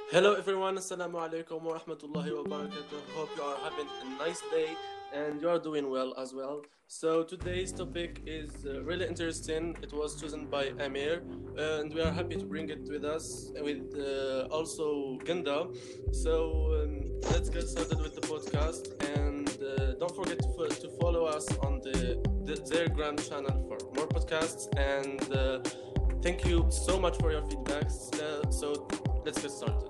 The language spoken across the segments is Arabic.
Hello everyone, Assalamu alaikum wa rahmatullahi wa barakatuh. Hope you are having a nice day and you are doing well as well. So today's topic is really interesting. It was chosen by Amir and we are happy to bring it with us with also Ganda. So let's get started with the podcast and don't forget to follow us on their grand channel for more podcasts and thank you so much for your feedbacks. So let's get started.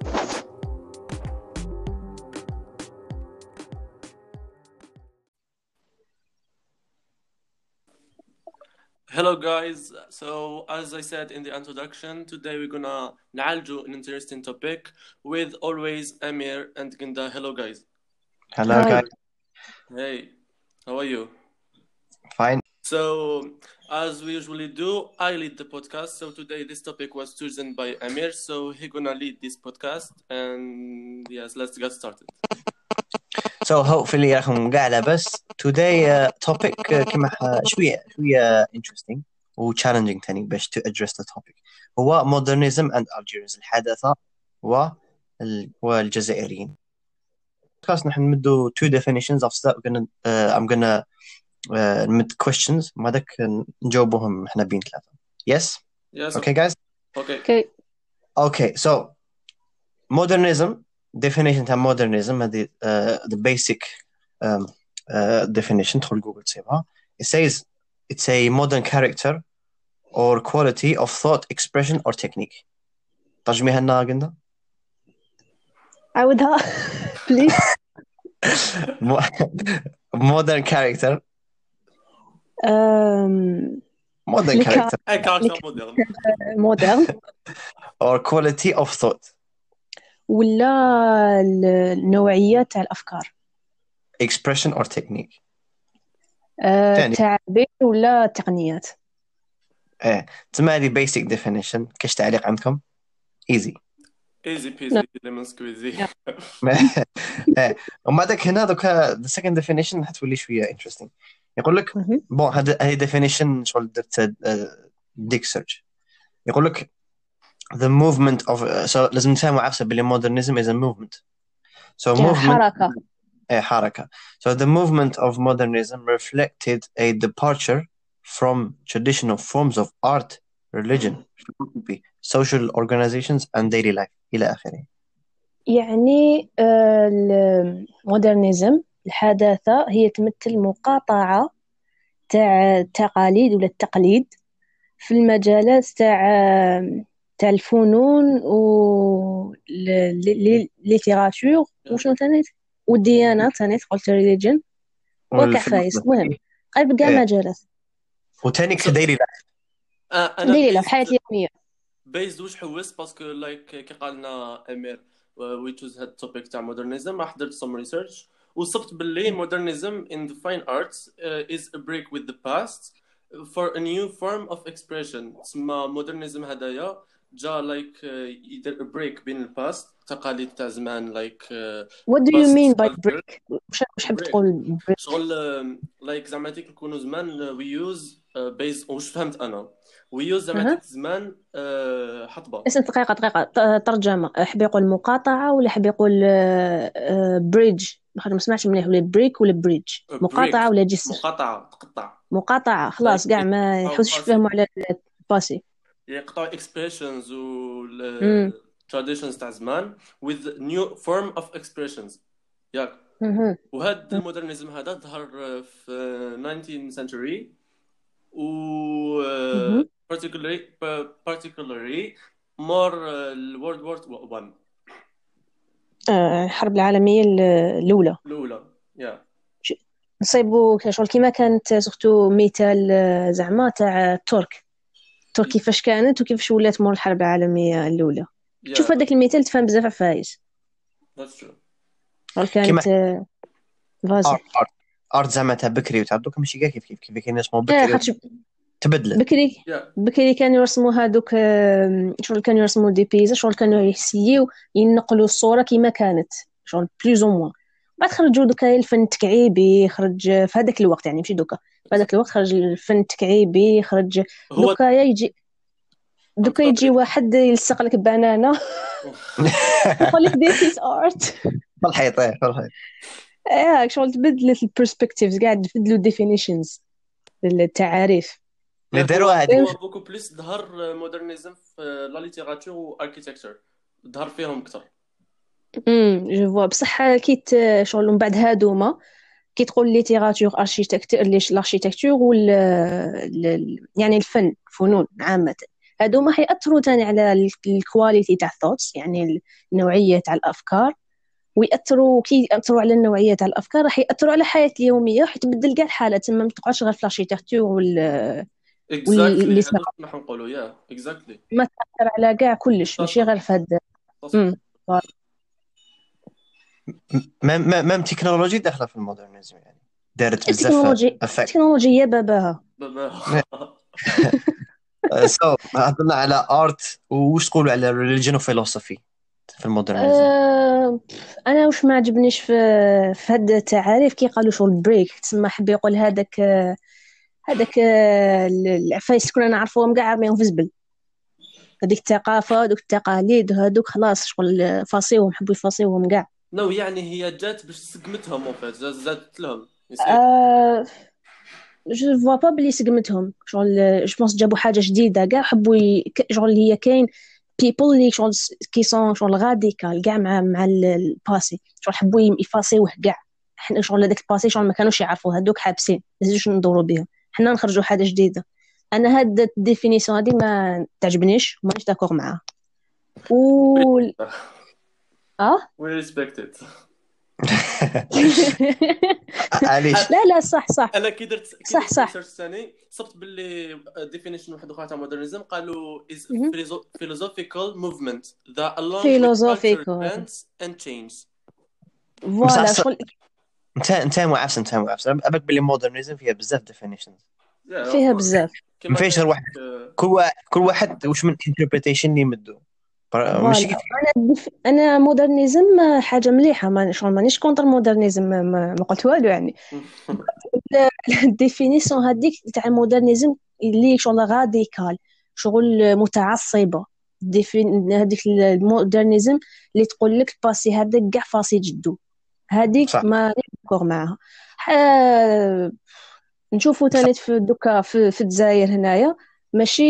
Hello guys, so as I said in the introduction, today we're gonna نعالجو an interesting topic with always Amir and Ginda. Hello guys. Hello, Hi. guys. Hey, how are you? Fine. So as we usually do, I lead the podcast. So today this topic was chosen by Amir, so he's gonna lead this podcast. And yes, let's get started. So hopefully راكم قاع لاباس. Today topic كما شوية interesting و challenging تاني باش to address the topic هو modernism and Algiers الحداثة والجزائريين. خلاص نحن نمدو two definitions of that. I'm gonna نمد questions ما داك نجاوبوهم احنا بين ثلاثة. Yes? Yes. Okay guys? Okay. Okay, so modernism definition تاع modernism هذه the basic definition تدخل جوجل تسيبها. It says it's a modern character or quality of thought, expression or technique. ترجميها لنا قلنا. عاودها بليز. modern character. Modern character. character modern. مودرن or quality of thought. ولا النوعية تاع الأفكار. expression or technique. تاني. تعبير ولا تقنيات. تسمى هذه basic definition. كاش تعليق عندكم؟ easy. Easy peasy lemon squeezy. وما داك هنا دوكا the second definition حتولي شوية interesting. يقول لك بون هذه definition شغل درت ديك search. يقول لك the movement of so لازم نفهموا عفسة باللي modernism is a movement. So movement حركة. So the movement of modernism reflected a departure from traditional forms of art, religion, philosophy, social organizations and daily life إلى آخره. يعني المودرنيزم الحداثة هي تمثل مقاطعة تاع التقاليد ولا التقليد في المجالات تاع الفنون و الليتيراتور وشنو ثاني والديانات ثاني قلت religion وكعفايس المهم قريب كاع مجالات وثاني كديلي لايف ديلي لايف حياة اليومية بيز واش حوس باسكو لايك كي قالنا امير وي تشوز هاد التوبيك تاع مودرنيزم راح درت سم ريسيرش وصبت باللي مودرنيزم in the fine arts is a break with the past for a new form of expression. تسمى مودرنيزم هدايا جا لايك يدير a break بين الباست تقاليد تاع زمان لايك what do you mean by break واش حاب تقول شغل لايك زعما تيك نكونوا زمان we use based واش فهمت انا we use زعما تيك زمان حطبه اسم دقيقه ترجمه حاب يقول مقاطعه ولا حاب يقول بريدج ما سمعتش مليح ولا بريك ولا بريدج مقاطعه ولا جسر مقاطعه خلاص كاع ما يحوسش يفهموا على الباسي يقطعوا expressions و traditions تاع زمان with new form of expressions ياك وهذا المودرنيزم هذا ظهر في 19th century و particularly more World War 1 الحرب العالمية الأولى يا نصيبوا شغل كيما كانت سورتو مثال زعما تاع الترك كيفاش كانت وكيفاش ولات مور الحرب العالمية الأولى شوف هذاك المثال تفهم بزاف عفايس That's true كانت فازي ارت زعما تاع بكري وتاع دوك ماشي كاع كيف كاين اسمه بكري تبدلت بكري كانوا يرسموا هذوك شغل كانوا يرسموا دي بيزا شغل كانوا يحسيو ينقلوا الصورة كيما كانت شغل بلوز او موان بعد خرجوا دوكا الفن التكعيبي خرج في هذاك الوقت يعني ماشي دوكا في هذاك الوقت خرج الفن التكعيبي خرج دوكا يجي دوكا يجي واحد يلصق لك بنانه يقول لك this is art. في الحيط في الحيط. شغل تبدلت البرسبكتيفز، قاعد تبدلوا الديفينيشنز، التعاريف. اللي داروها هذه هو بوكو بليس ظهر مودرنيزم في لا ليتيراتور واركيتكتشر، ظهر فيهم اكثر. جو فوا بصح كيت شغل من بعد هادوما كي تقول ليتيراتور اركيتكتور الاركيتكتور يعني الفنون عامه، هادوما حيأثروا تاني على الكواليتي تاع الثوتس، يعني النوعيه تاع الافكار، ويأثروا كي يأثروا على النوعيه تاع الافكار راح يأثروا على الحياه اليوميه، حتبدل كاع الحاله، تما ما تقعدش غير في الاركيتكتور اكزاكتلي هذا نحن نقولوا يا اكزاكتلي ما تأثر على كاع كلش، ماشي غير في هذا. ما تكنولوجي داخله في المودرنيزم، يعني دارت بزاف التكنولوجيا باباها سو هضرنا على ارت، وش تقولوا على ريليجن وفيلوسوفي في المودرنيزم؟ انا واش ما عجبنيش في هاد التعاريف كي قالوا شغل بريك، تسمى حب يقول هذاك العفايس كنا نعرفوهم كاع رميهم في الزبل، هذيك الثقافه ودوك التقاليد وهذوك خلاص شغل فاصيوهم، حبوا يفاصيوهم كاع. نو يعني هي جات باش سقمتهم اون فيت، زادت لهم جو فوا با بلي سقمتهم، شغل جو بونس جابوا حاجه جديده كاع، حبوا شغل هي كاين بيبل اللي شغل كي سون شغل غاديكال كاع مع الباسي، شغل حبوا يفاصيوه كاع. حنا شغل هذاك الباسي شغل ما كانوش يعرفوه، هذوك حابسين لازمش ندوروا بهم، حنا نخرجوا حاجه جديده. انا هاد الديفينيسيون هذه ما تعجبنيش ومانيش داكور معاها. و we respect it. علاش لا صح انا كي درت صح ثاني صبت باللي ديفينيشن واحد اخرى تاع مودرنيزم قالوا is philosophical movement that along with culture trends and change. فوالا شغل انت معفس ابك باللي مودرنيزم فيها بزاف ديفينيشنز، فيها بزاف، ما فيش غير واحد، كل واحد واش من انتربريتيشن اللي يمدو ماشي. انا مودرنيزم حاجه مليحه، ما شغل مانيش كونتر مودرنيزم، ما قلت والو يعني. الديفينيسيون هذيك تاع المودرنيزم اللي شغل راديكال، شغل متعصبه، هذيك المودرنيزم اللي تقول لك الباسي هذاك كاع فاسي جدو، هذيك ما نكور معاها. نشوفوا ثاني في دوكا في الجزائر هنايا ماشي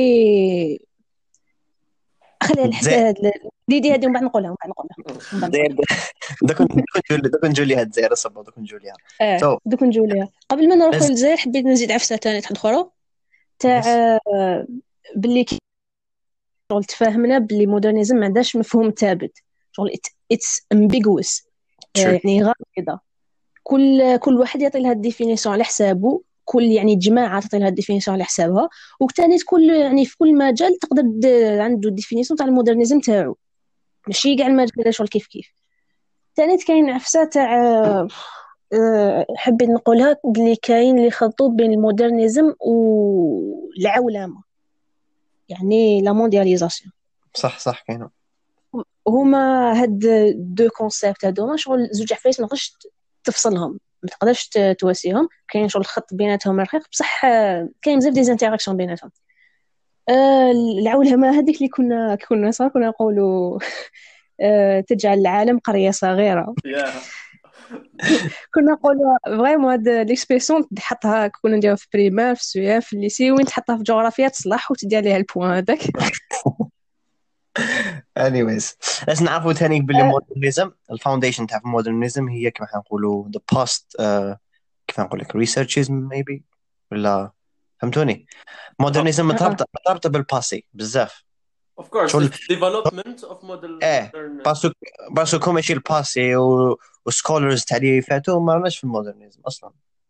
خليها الحساد ديدي هذه ومن بعد نقولها دوك نجوا ليها الجزائر صبا دوك نجوا ليها دوك نجوا ليها. قبل ما نروح للجزائر حبيت نزيد عفسه ثانيه اخرى تاع باللي شغل تفاهمنا باللي مودرنيزم ما عندهاش مفهوم ثابت، شغل اتس امبيغوس، يعني غامضه، كل واحد يعطي لها الديفينيسيون على حسابه، كل يعني جماعه تعطي لها الديفينيسيون على حسابها، وثاني كل يعني في كل مجال تقدر عنده الديفينيسيون تاع المودرنيزم تاعو، ماشي كاع المجال شغل كيف ثاني. كاين عفسه تاع حبيت نقولها بلي كاين اللي خلطوا بين المودرنيزم والعولمه، يعني لا موندياليزاسيون. صح كاين هما هاد دو كونسيبت هادوما شغل زوج عفايس ما تقدرش تفصلهم، ما تقدرش تواسيهم، كاين شغل الخط بيناتهم رقيق بصح كاين بزاف دي انتراكسيون بيناتهم. العولمه هذيك اللي كنا صار كنا نقولوا تجعل العالم قريه صغيره. كنا نقولوا فريمون هاد ليكسبريسيون تحطها كنا نديروها في بريمير في السويا في الليسي، وين تحطها في جغرافيا تصلح وتدي عليها البوان هذاك. anyways لازم نعرفوا ثاني باللي مودرنيزم الفاونديشن تاع المودرنيزم هي كما نقولوا the past كيف نقول لك researches maybe ولا فهمتوني. مودرنيزم مرتبطه بالباسي بزاف of course development of modern باسكو ماشي الباسي وسكولرز تاع اللي فاتوا ما راناش في المودرنيزم اصلا.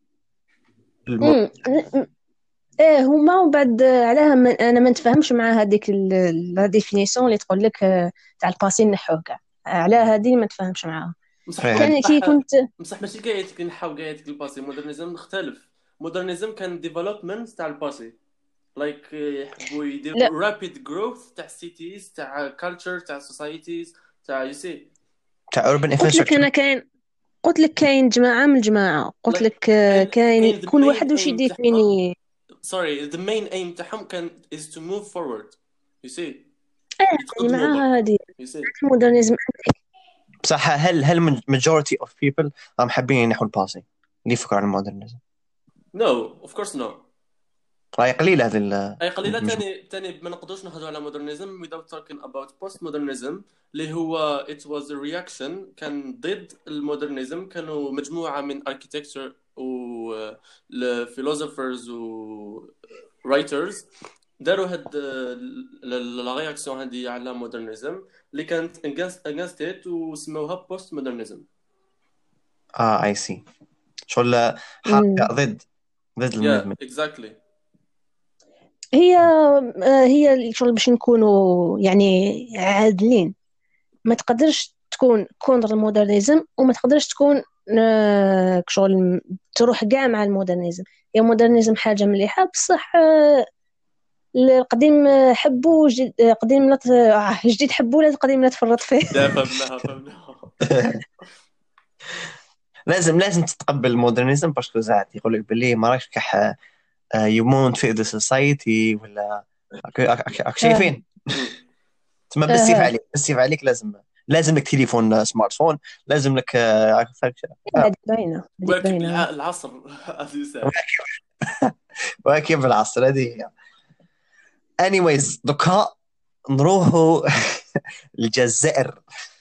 هما وبعد علاه انا ما نتفاهمش مع هذيك لا ديفينيسيون اللي تقول لك تاع الباسي نحوه كاع، على هذه ما نتفاهمش معاها. كان كي كنت بصح ماشي كاع يتك نحاو كاع يتك الباسي. مودرنيزم مختلف، مودرنيزم كان ديفلوبمنت تاع الباسي لايك يحبوا يديروا رابيد جروث تاع سيتيز تاع كالتشر تاع سوسايتيز تاع يسي تاع اوربن انفراستراكشر. قلت لك كاين جماعه من الجماعه، قلت لك كاين كل واحد واش يديفيني. sorry the main aim تاعهم كان is to move forward you see يعني يتقدموا مع هذه you see المودرنيزم. بصح هل majority of people راهم حابين ينحوا الباسي اللي يفكروا على المودرنيزم؟ no of course no. راهي قليله هذه اي قليله. تاني ما نقدروش نهضروا على مودرنيزم without talking about postmodernism اللي هو it was a reaction كان ضد المودرنيزم. كانوا مجموعه من architecture و philosophers و writers داروا هاد لا رياكسيون هذه على مودرنيزم اللي كانت against it وسموها postmodernism. اي سي شغل حركه ضد الموفمنت. exactly. هي الشغل باش نكونوا يعني عادلين، ما تقدرش تكون كونتر المودرنيزم وما تقدرش تكون شغل تروح كاع مع المودرنيزم. هي المودرنيزم حاجه مليحه بصح القديم حبوا قديم لا جديد حبوا لا القديم لا تفرط فيه. فهمناها. لازم تتقبل المودرنيزم باسكو زعما يقول لك باللي ما راكش كح you won't fit the society ولا شايفين تما بسيف عليك لازم لك تليفون سمارت فون، لازم لك باينه واكب العصر واكب العصر هذه. anyways دوكا نروحوا الجزائر.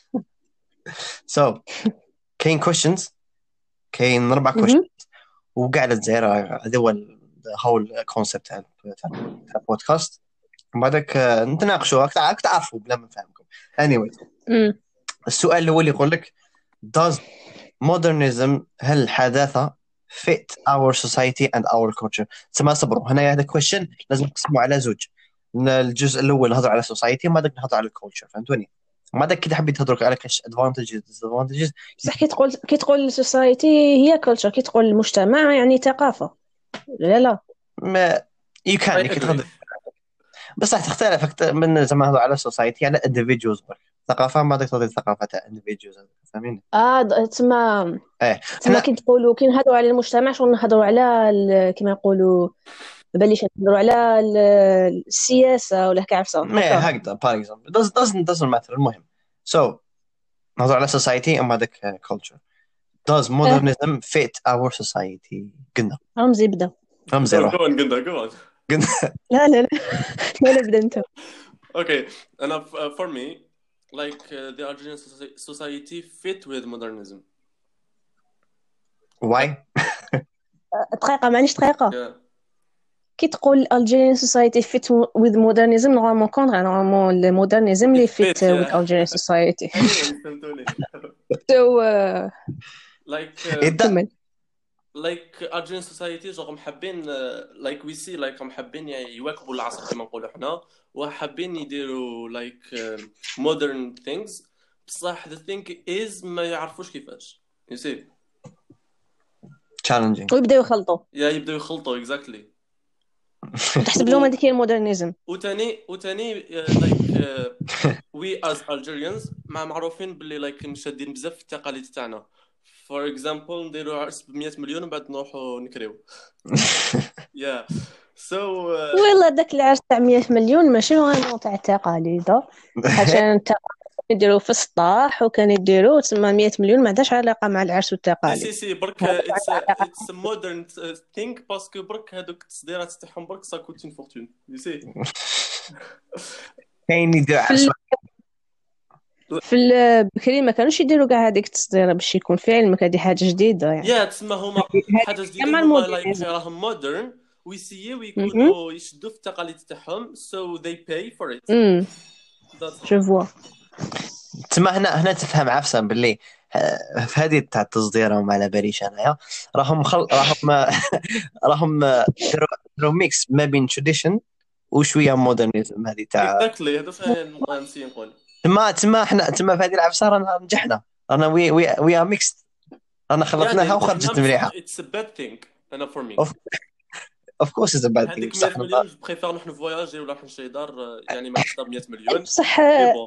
so كاين questions، كاين 4 questions وقاعد الجزائر. هذا هو هول كونسبت تاع البودكاست. بعدك نتناقشوا تعرفوا بلا ما نفهمكم. anyways السؤال الاول يقول لك does modernism هل الحداثه fit our society and our culture؟ تسمى صبروا هنا هذا question لازم نقسموا على زوج. الجزء الاول نهضر على society وما داك نهضر على الكولتشر، فهمتوني؟ ما داك كي حبيت تهضروا على كاش advantages disadvantages. صح كي تقول society هي culture، كي تقول المجتمع يعني ثقافه. لا ما يمكن تقدر بس راح تختلف من زعما هذا على سوسايتي على individuals برك. ثقافه ما داك تهضر ثقافه تاع individuals فاهمين. تسمى كي تقولوا كي نهضروا على المجتمع شغل نهضروا على كما يقولوا بليش نهضروا على السياسه ولا كعفسه هكذا باغ اكزامبل doesn't matter. المهم نهضروا على society اما داك culture. does modernism fit our society؟ قلنا رمزي بدا روح قلنا لا بدا انت. okay انا for me like the Algerian society fit with modernism. why؟ دقيقه معنيش دقيقه. كي تقول Algerian society fit with modernism نورمالمون كونتر، نورمالمون المودرنيزم اللي fit with Algerian society. so like Algerian society جو محبين like we see like محبين يواكبوا العصر كما نقولوا احنا وحابين يديروا like modern things بصح the thing is ما يعرفوش كيفاش you see challenging ويبداو يخلطوا exactly. تحسب لهم هذيك هي المودرنيزم. وتاني like we as Algerians معروفين باللي like مشادين بزاف في التقاليد تاعنا. for example نديروا عرس ب100 مليون وبعد نروحوا نكريو. so والله داك العرس تاع 100 مليون ماشي غير تاع التقاليد عشان يديروا في السطاح وكان يديروا تسمى 100 مليون ما عندهاش علاقه مع العرس والتقاليد. سي برك it's a modern thing باسكو برك هذوك التصديرات تاعهم برك سا كوتين فورتون you see. كاين يدير عرس في البكري ما كانوش يديروا كاع هذيك التصديره باش يكون في علمك هذه حاجه جديده يعني. تسمى هما حاجه جديده هما لايك راهم مودرن ويسيو يكونوا يشدوا في التقاليد تاعهم so they pay for it. جو فوا تما هنا تفهم عفسا باللي في هذه تاع التصدير وما على باليش انايا راهم داروا ميكس ما بين تراديشن وشويه مودرنيزم. هذه تاع اكزاكتلي هذا فين نسي نقول تما احنا في هذه العفسه رانا نجحنا رانا وي ار ميكس رانا خلطناها وخرجت مليحه. it's a bad thing انا for me of course it's a bad thing. هذيك 100 مليون بريفير نحن فواياجي ولا نحن شي دار يعني ما نشرب 100 مليون بصح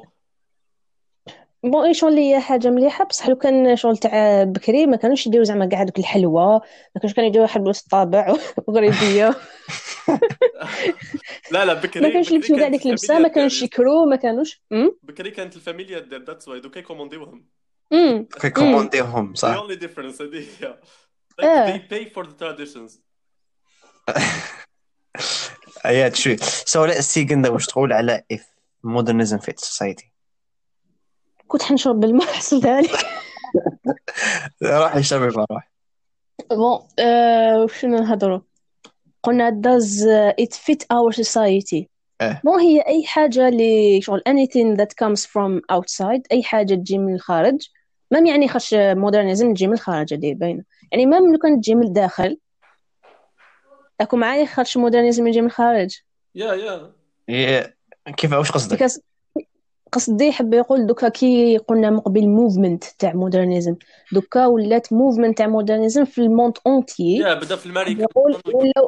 بون شغل هي حاجه مليحه بصح لو كان شغل تاع بكري ما كانوش يديروا زعما كاع دوك الحلوى، ما كانوش كانوا يديروا حلوى الطابع وغريبيه لا ما بكري كانش يلبسوا كاع كانت ديك اللبسه، الفاميليا ما دير كانوش يكرو، ما كانوش بكري كانت الفاميليا دير ذاتس واي دوكا يكومونديوهم. امم كيكومونديهم the صح. only difference هذه هي like they اه pay for the traditions. Yeah, true. So let's see كندا واش تقول على if modernism fits society. كنت حنشرب بالماء حصلتها لك. راح يشرب راح. بون شنو نهضروا؟ قلنا does it fit our society. اه مو هي أي حاجة اللي شغل anything that comes from outside، أي حاجة تجي من الخارج. مام يعني خش مودرنيزم تجي من الخارج هذه باينة، يعني مام لو كانت تجي من الداخل أكو معايا خش مودرنيزم يجي من الخارج. yeah إيه، كيف واش قصدك؟ because قصدي حب يقول دوكا كي قلنا مقبل موفمنت تاع مودرنيزم، دوكا ولات موفمنت تاع مودرنيزم في الموند اونتيي. بدا في حب الماريكان. يقول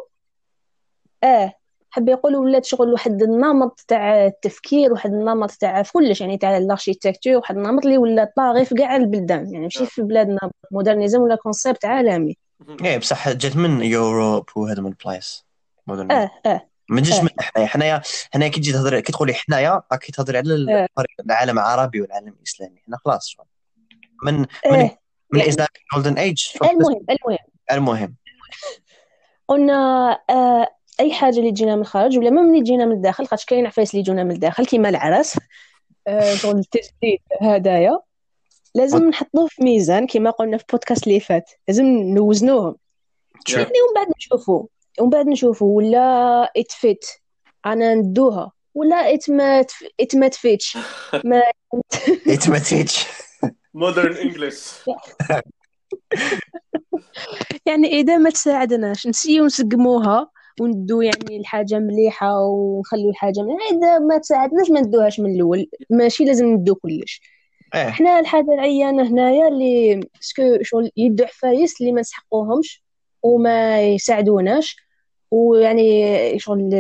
حب يقول ولات شغل واحد النمط تاع التفكير، واحد النمط تاع في كلش، يعني تاع الاركيتكتور، واحد النمط اللي ولا طاغي في كاع البلدان، يعني ماشي في بلادنا. مودرنيزم ولا كونسيبت عالمي. ايه بصح جات من يوروب وهذا من البلايص مودرنيزم. اه ما تجيش من حنايا كي تجي تهضر كي تقولي حنايا راكي تهضري على العالم العربي والعالم الاسلامي. حنا خلاص شغل من من يعني من الاسلامي جولدن ايج. المهم قلنا اي حاجه اللي تجينا من الخارج ولا ما اللي تجينا من الداخل، خاطش كاين عفايس اللي يجونا من الداخل كيما العرس، شغل التجديد هدايا، لازم نحطوه في ميزان كيما قلنا في بودكاست اللي فات، لازم نوزنوهم. يعني ومن بعد نشوفوا ولا اتفيت انا ندوها ولا اتما تفيتش ما اتمتيتش modern English. يعني اذا ما تساعدناش نسيو نسقموها وندو يعني الحاجه مليحه ونخليو الحاجه مليحه، اذا ما تساعدناش ما ندوهاش من الاول، ماشي لازم ندو كلش. احنا الحاجه العيانه هنايا اللي سكو شغل يدو حفايس اللي ما نسحقوهمش وما يساعدوناش، ويعني شغل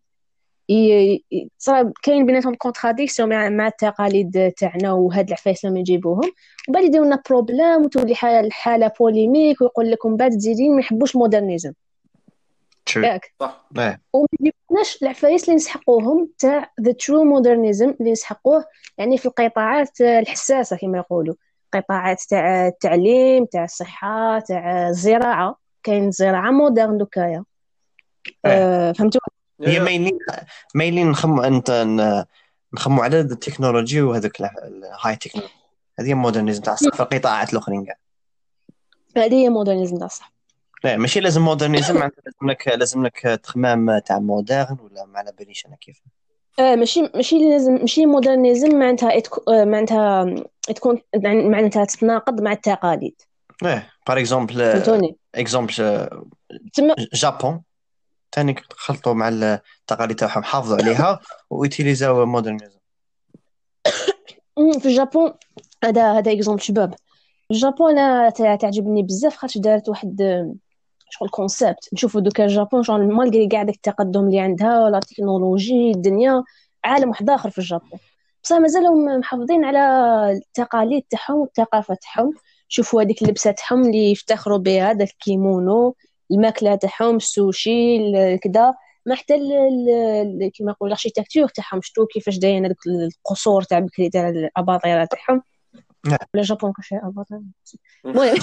صار كاين بيناتهم كونتراديكسيون مع التقاليد تاعنا وهاد العفايس لما يجيبوهم، وبعد يديروا لنا بروبليم وتولي الحاله بوليميك، ويقول لكم بعد تزيدين ما يحبوش مودرنيزم ياك صح. وما يجيبوناش العفايس اللي نسحقوهم تاع ذا ترو مودرنيزم اللي نسحقوه يعني في القطاعات الحساسه كما يقولوا، قطاعات تاع التعليم، تاع الصحه، تاع الزراعه. كاين زراعه مودرن دوكايا. فهمتوا؟ هي مايلين نخمو على التكنولوجي وهذاك الهاي تكنولوجي. هذه مودرنيزم تاع الصح في القطاعات الاخرين كاع. هذه هي مودرنيزم تاع الصح. لا ماشي لازم مودرنيزم معناتها لازم لك تخمام تاع مودرن ولا ما على باليش انا كيف. ماشي لازم، ماشي مودرنيزم معناتها تكون معناتها تتناقض مع التقاليد. بار اكزومبل جابون ثاني خلطوا مع التقاليد تاعهم، حافظوا عليها ويتيليزاو مودرنيزم. في الجابون هذا اكزومبل شباب. الجابون انا تعجبني بزاف خاطر دارت واحد شغل كونسيبت. نشوفوا دوكا الجابون شغل مالغري كاع داك التقدم اللي عندها ولا التكنولوجي الدنيا عالم واحد اخر في الجابون، بصح مازالهم محافظين على التقاليد تاعهم والثقافه تاعهم. شوفوا هذيك اللبسه تاعهم اللي يفتخروا بها، داك الكيمونو، الماكله تاعهم، السوشي كذا، ما حتى كيما نقول الاركيتكتور تاعهم. شتو كيفاش داين هذوك القصور تاع بكري تاع الاباطره تاعهم ولا جابون كاش اباطره. المهم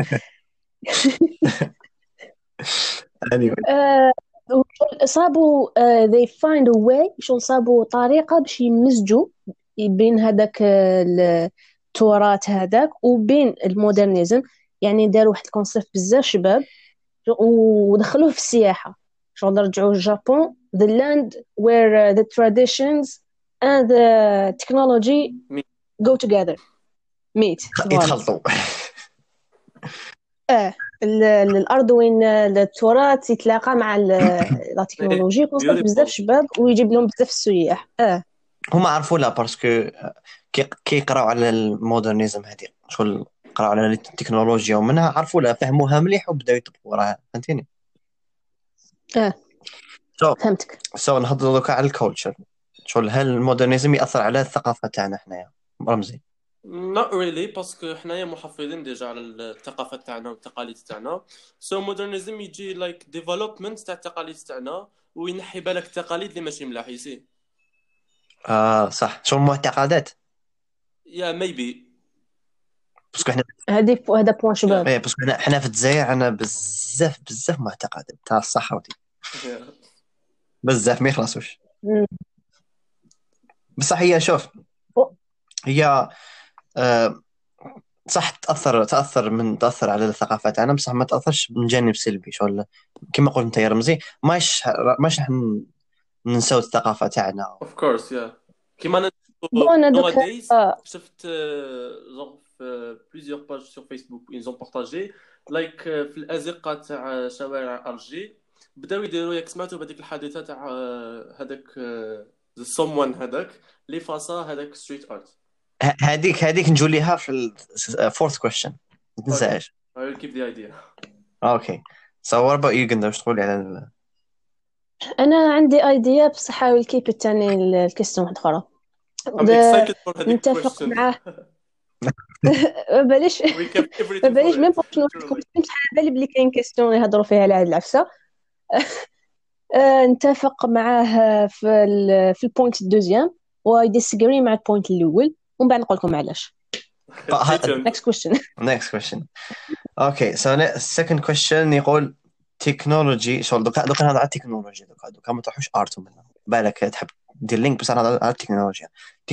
صابوا they find a way، شغل صابوا طريقة باش يمزجوا بين هذاك التراث هذاك وبين المودرنيزم. يعني داروا واحد الكونسيبت بزاف شباب ودخلوه في السياحة، شغل رجعوا الجابون the land where the traditions and the technology go together meet يتخلطوا. الارض وين التراث يتلاقى مع لا تكنولوجي. كونسيبت بزاف شباب ويجيب لهم بزاف السياح. هما عرفوا لا باسكو كي يقراو على المودرنيزم هذه شغل قراو على التكنولوجيا ومنها عرفوا لا فهموها مليح وبداو يطبقوا وراها. فهمتيني؟ فهمتك. نهضروا دوكا على الكولتشر. شغل هل المودرنيزم يأثر على الثقافة تاعنا حنايا رمزي؟ not really باسكو حنايا محافظين ديجا على الثقافه تاعنا والتقاليد تاعنا. so modernism يجي like development تاع التقاليد تاعنا وينحي بالك التقاليد اللي ماشي ملاح يسي. صح، شو المعتقدات. يا ميبي. باسكو حنا هذا بوان شباب. باسكو حنا في الجزائر عندنا بزاف معتقدات تاع الصح ودي بزاف ما يخلصوش. بصح هي شوف، هي صح تأثر على الثقافة تاعنا، بصح ما تأثرش من جانب سلبي. شغل كما قلت انت يا رمزي، ماش راح ننساو الثقافة تاعنا. اوف كورس يا كيما بون دوك nowadays شفت genre في plusieurs pages sur Facebook ils ont partagé like في الأزقة تاع شوارع أرجي بداو يديروا، ياك سمعتوا بهذيك الحادثة تاع هذاك someone هذاك اللي فاصا هذاك ستريت ارت. هذيك نجوليها في fourth question، ما تنساهاش. I will keep the idea. Okay, so what about you قندر، واش تقولي على انا عندي ايديا بصح حاول كيب الثاني الكيستيون واحده اخرى. I'm excited for هذيك نتفق question. معاه. بلاش We kept everything بلاش for ميم it. باش نوضحكم، بصح على بالي بلي كاين كيستيون يهضروا فيها على هاد العفسه. نتفق معاه في البوينت الدوزيام ويديسغري مع البوينت الاول، ومن بعد نقول لكم علاش. next question. Okay, so second question يقول تكنولوجي. شغل دوكا نهضر على التكنولوجيا، دوكا ما تروحوش ارتو منها بالك تحب دير لينك، بس نهضر على التكنولوجيا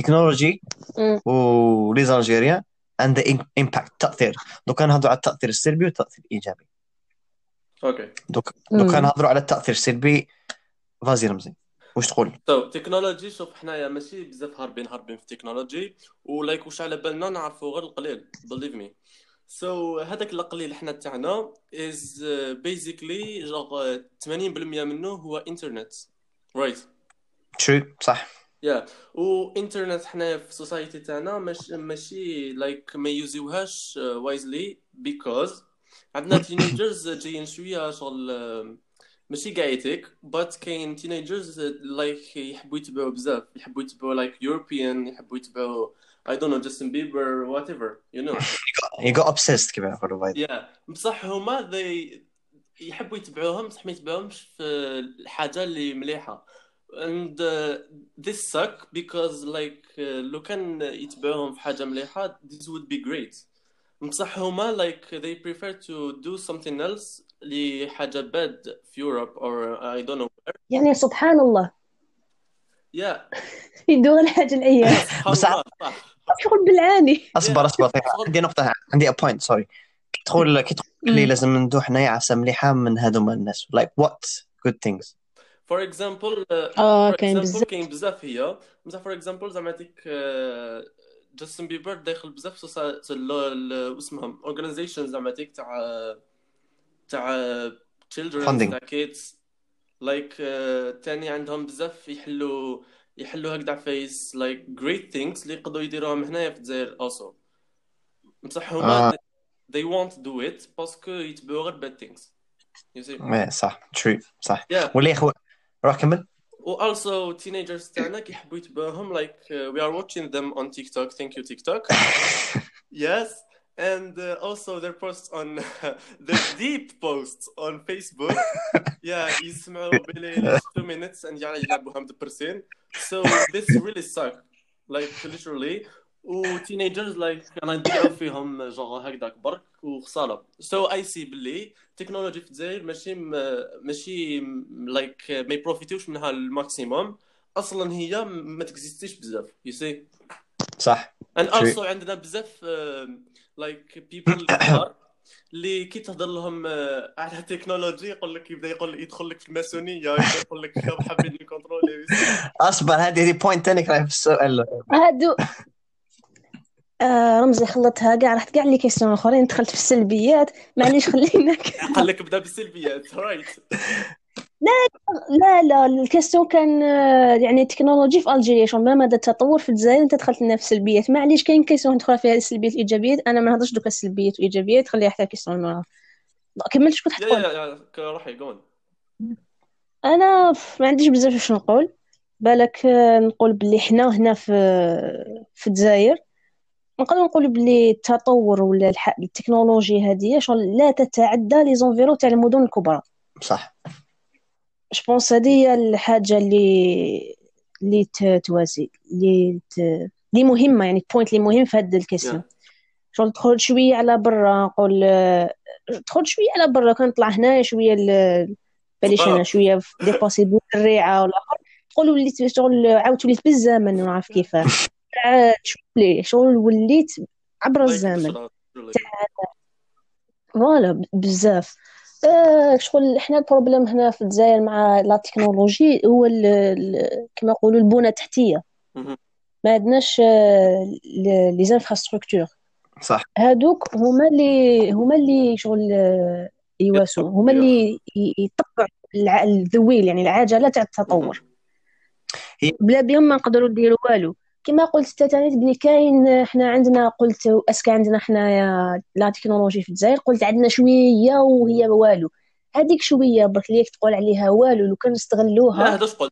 ولي زالجيريان عند امباكت تاثير. دوكا نهضروا على التاثير السلبي والتاثير الايجابي. اوكي دوكا نهضروا على التاثير السلبي. فازي رمزي واش تقول؟ تكنولوجي، شوف حنايا ماشي بزاف هاربين في التكنولوجي، ولايك واش على بالنا نعرفوا غير القليل believe me. هذاك القليل حنا تاعنا is basically genre 80% منه هو انترنت right. true صح. وانترنت حنا في السوسايتي تاعنا ماشي لايك ما يوزيوهاش وايزلي because عندنا تينيجرز جايين شويه شغل ماشي كاع يتيك but كاين تينيجرز لايك يحبوا يتبعوا بزاف، يحبوا يتبعوا لايك يوروبيان، يحبوا يتبعوا I don't know Justin Bieber whatever you know. you got obsessed كما يقولوا بايد. بصح هما يحبوا يتبعوهم، بصح ما يتبعوهمش في الحاجه اللي مليحه and this suck because like لو كان يتبعوهم في حاجه مليحه this would be great. بصح هما like they prefer to do something else لحاجه bad في Europe or I don't know where. يعني سبحان الله يدور الحاجه العيال. بس صح شغل بالعاني. اصبر عندي نقطه، عندي بوينت سوري. كي تقول لي لازم ندو حنايا عفسه مليحه من هذوما الناس like what good things for example كاين بزاف هي بصح for example زعما ديك جاستن بيبر داخل بزاف اسمهم organization زعما ديك تاع children تاع kids like تاني عندهم بزاف يحلوا هكذا فيس like great things اللي يقدروا يديروهم هنايا في الجزائر also. بصح هما they won't do it باسكو يتبعوا غير bad things you see. صح true صح. ولا اخو روح كمل. also teenagers تاعنا كيحبوا يتبعوهم like we are watching them on TikTok. Thank you TikTok. Yes. And also their posts on their deep posts on Facebook يسمعوا بلي 2 minutes and يلعبوهم دبرسين. So this really suck like literally. teenagers like انا نديروا فيهم جوغ هكذاك برك وخساره. So I see بلي تكنولوجي في الجزائر ماشي like ما يبروفيتوش منها الماكسيموم، اصلا هي ما تكزيستيش بزاف you see. صح. and also عندنا بزاف like people اللي كي تهضر لهم على التكنولوجي يقول لك يدخل لك في الماسونيه، يقول لك حابين نكونترولي. اصبر هذه بوينت ثاني راهي في السؤال هادو رمزي خلطها كاع، رحت كاع لي كيسيون اخرين دخلت في السلبيات. معليش خليناك قال لك بدا بالسلبيات رايت. لا الكيسيون كان يعني التكنولوجي في الجيريا شلون ما مدى التطور في الجزائر. انت دخلت لنا في السلبيات، معليش كاين كيسيون ندخل فيها السلبيات والايجابيات. انا ما نهضرش دوكا السلبيات والايجابيات، خليها حتى الكيسيون ما كملتش كنت حتقول. روحي قول. انا ما عنديش بزاف واش نقول. بالك نقول بلي حنا هنا في الجزائر نقدر نقول بلي التطور ولا التكنولوجيا هذه شغل لا تتعدى لي زونفيرو تاع المدن الكبرى. صح جوبونس هذه هي الحاجه اللي توازي اللي مهمه، يعني بوينت اللي مهم في هذا الكيسيون. شغل تخرج شويه على برا، نقول تخرج شويه على برا، كنطلع هنايا شويه باليش انا شويه ديباسي بالريعه ولا تقول وليت شغل عاودت وليت بالزمن، ما نعرف كيفاه شغل وليت عبر الزمن. فوالا بزاف. شغل احنا البروبليم هنا في الجزائر مع لا تكنولوجي هو كما يقولوا البنى التحتيه. ما عندناش لي زانفراستركتور. صح. هادوك هما اللي شغل يواسو، هما اللي يطبعوا الذويل، يعني العجله تاع التطور. بلا بهم ما نقدروا نديروا والو. كما قلت تاني بلي كاين حنا عندنا، قلت اسكا عندنا حنايا لا تكنولوجي في الجزائر، قلت عندنا شويه وهي والو. هذيك شويه برك ليك تقول عليها والو، لو كان نستغلوها. لا هذا قلت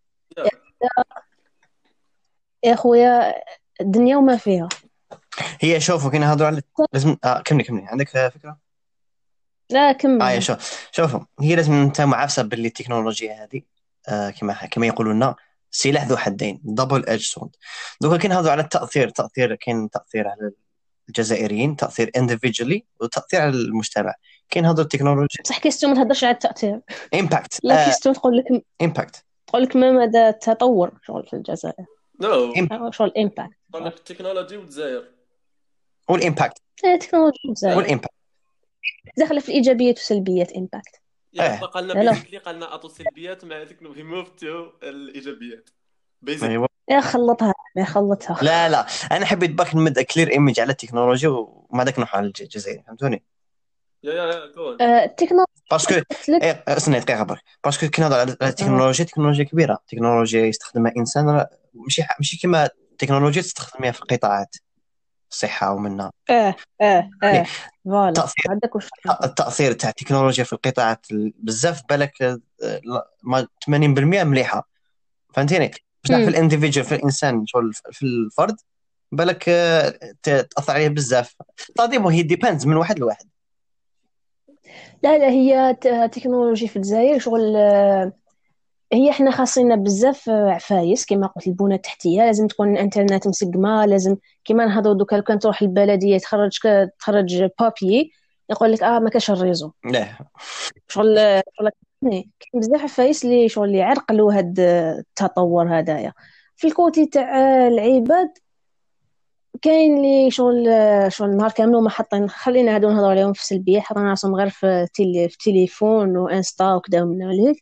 يا خويا الدنيا وما فيها. هي شوفوا كنا هذو على لازم كملي عندك فكره؟ لا كمل. شوفوا هي لازم انت معافسه باللي التكنولوجيا هذه كما يقولوا لنا سلاح ذو حدين، دبل ايدج سورد. دوكا كاين هذو على التاثير كاين تاثير على الجزائريين، تاثير individually وتاثير على المجتمع. كاين هذو التكنولوجيا صح. كيستون ما تهضرش على التاثير، امباكت. لا كيستون تقول لك امباكت، تقول لك ما مدى التطور شغل في الجزائر. شغل امباكت قال لك التكنولوجيا والجزائر والامباكت. التكنولوجيا والجزائر والامباكت داخله في الايجابيات والسلبيات. امباكت بقى لنا بيزيكلي قالنا اعطوا السلبيات مع ذيك نو موفتو الايجابيات بيزيكلي. يا خلطها. لا انا حبيت باك نمد كلير ايمج على التكنولوجيا وما داك نروح على الجزائر، فهمتوني؟ يا كون التكنولوجيا باسكو استنى دقيقه برك، باسكو كي نهضر على تكنولوجيا كبيره، تكنولوجيا يستخدمها انسان، ماشي كما تكنولوجيا تستخدمها في القطاعات الصحه ومنها فوالا. التاثير تاع التكنولوجيا في القطاعات بزاف بالك 80% مليحه، فهمتيني؟ بصح في الانديفيدوال، في الانسان شغل في الفرد بالك تاثر عليه بزاف. طاديمو هي ديبيندز من واحد لواحد. لا هي تكنولوجي في الجزائر شغل هي احنا خاصنا بزاف عفايس كما قلت. البنى التحتيه لازم تكون الانترنت مسقمه، لازم كيما نهضروا دوكا لو كان تروح البلديه تخرج بابي يقول لك ما كاش الريزو. لا شغل كاين بزاف عفايس اللي شغل اللي عرقلوا هاد التطور هدايا. في الكوتي تاع العباد كاين اللي شغل نهار كامل وما حاطين، خلينا هادو نهضروا عليهم في سلبيه، حاطين راسهم غير في تليفون وانستا وكذا من هذيك.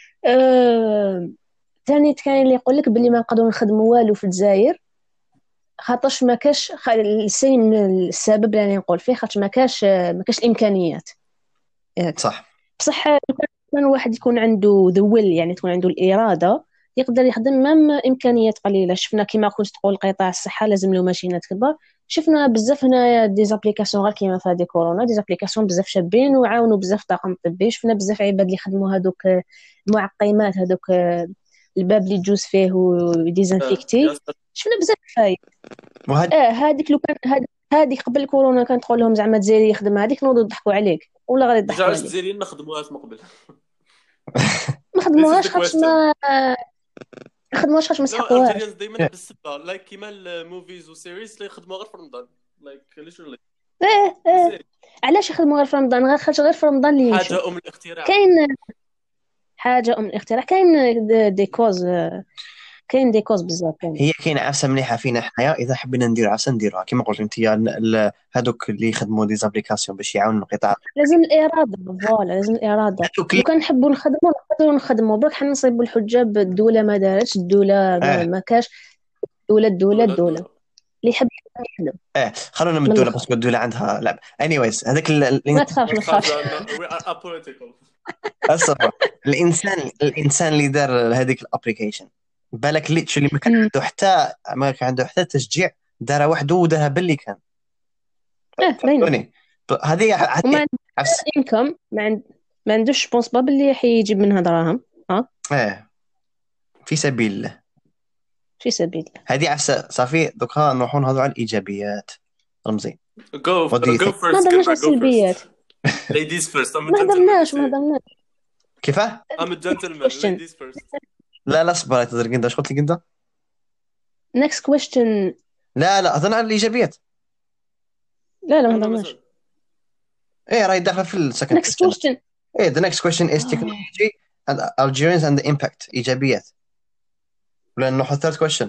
ثاني كاين اللي يقول لك باللي ما نقدروا نخدموا والو في الجزائر خاطرش ما كاش السين السبب اللي نقول فيه، خاطر ما كاش الامكانيات. صح. بصح كان واحد يكون عنده ذا ويل، يعني تكون عنده الاراده، يقدر يخدم مام امكانيات قليله. شفنا كما كنت تقول قطاع الصحه لازم له ماشينات كبار. شفنا بزاف هنايا دي زابليكاسيون غير كيما في هذه كورونا، دي زابليكاسيون بزاف شابين وعاونوا بزاف الطاقم الطبي. شفنا بزاف عباد اللي خدموا هذوك المعقمات، هذوك الباب اللي تجوز فيه وديزانفيكتي. شفنا بزاف فايد. هذيك لو كان هذيك قبل كورونا كانت تقول لهم زعما الجزائري يخدم هذيك نوضوا يضحكوا عليك ولا غير يضحكوا عليك. الجزائريين ما خدموهاش من قبل ما خدموهاش خاطر ما خدموهاش خاطر ما سحقوهاش. الجزائريين دائما بالسبه لايك كيما الموفيز وسيريز اللي يخدموا غير في رمضان لايك ليترلي. علاش يخدموا غير في رمضان؟ غير في رمضان اللي حاجه الاختراع. كاين حاجه الاختراع، كاين دي كوز بزاف. هي كاين عفسه مليحه فينا حنايا، اذا حبينا ندير عفسه نديروها كما قلت انت. هذوك اللي يخدموا دي زابليكاسيون باش يعاونوا القطاع، لازم الاراده. فوالا لازم الاراده. لو كان نحبوا نخدموا برك حنا نصيبوا الحجه بالدوله ما دارتش، الدوله ما كاش الدوله اللي يحب يخدم. خلونا من الدوله باسكو الدوله عندها لعب. انيويز هذاك ما تخافش اصبر. الانسان اللي دار هذيك الابليكيشن بالك اللي ما كان عنده حتى تشجيع، دار وحده ودارها باللي كان هذه انكم ما عندوش بونس باب اللي حيجيب منها دراهم. في سبيل الله هذه عفسه صافي. دوكا نروحوا نهضروا على الايجابيات. رمزي جو فيرست. ما درناش السلبيات. ليديز فيرست. ما درناش كيفاه I'm a gentleman ladies first. لا اصبر تدرك انت ايش قلت لك انت next question. لا اظن على الايجابيات. لا ما ضمناش. ايه راهي داخله في السكند next question. ايه the next question is technology and Algerians and the impact. ايجابيات ولا نروح third question؟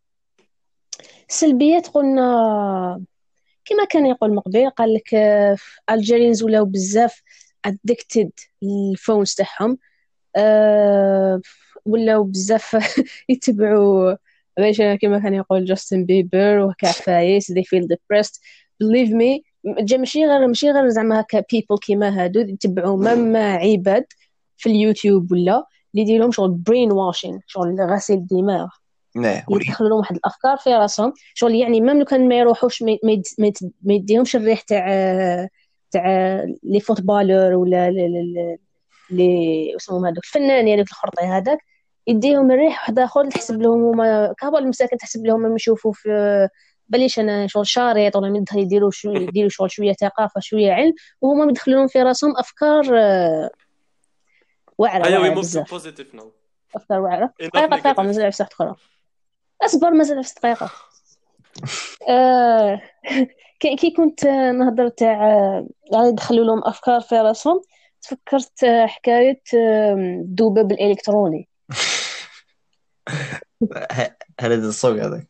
سلبيات قلنا كما كان يقول مقبل، قال لك الجيرينز ولاو بزاف addicted للفونز تاعهم، ولاو بزاف يتبعوا باش كما كان يقول جاستن بيبر وكعفايس they feel depressed. believe me ماشي غير زعما هكا people كيما هادو يتبعوا مما عباد في اليوتيوب ولا اللي يديرهم شغل برين واشين، شغل غسيل الدماغ، يدخلوا لهم واحد الافكار في راسهم، شغل يعني ميم لو كان ما يروحوش ما يديهمش الريح تاع لي فوتبالور ولا لي اسمهم هذوك الفنان يعني في الخرطي هذاك، يديهم الريح واحد اخر تحسب لهم هما كهبل المساكن، تحسب لهم ما يشوفوا في بليش انا شغل شاريط ولا يديروا شغل شويه ثقافه شويه علم، وهما مدخلون في راسهم افكار واعره بزاف. افكار واعره. دقيقه مازال 10 دقائق اخرى، اصبر مازال 10 دقائق. كي كنت نهضر تاع يعني يدخلوا لهم افكار في راسهم، تفكرت حكايه الذباب الالكتروني. هذا الصوت هذاك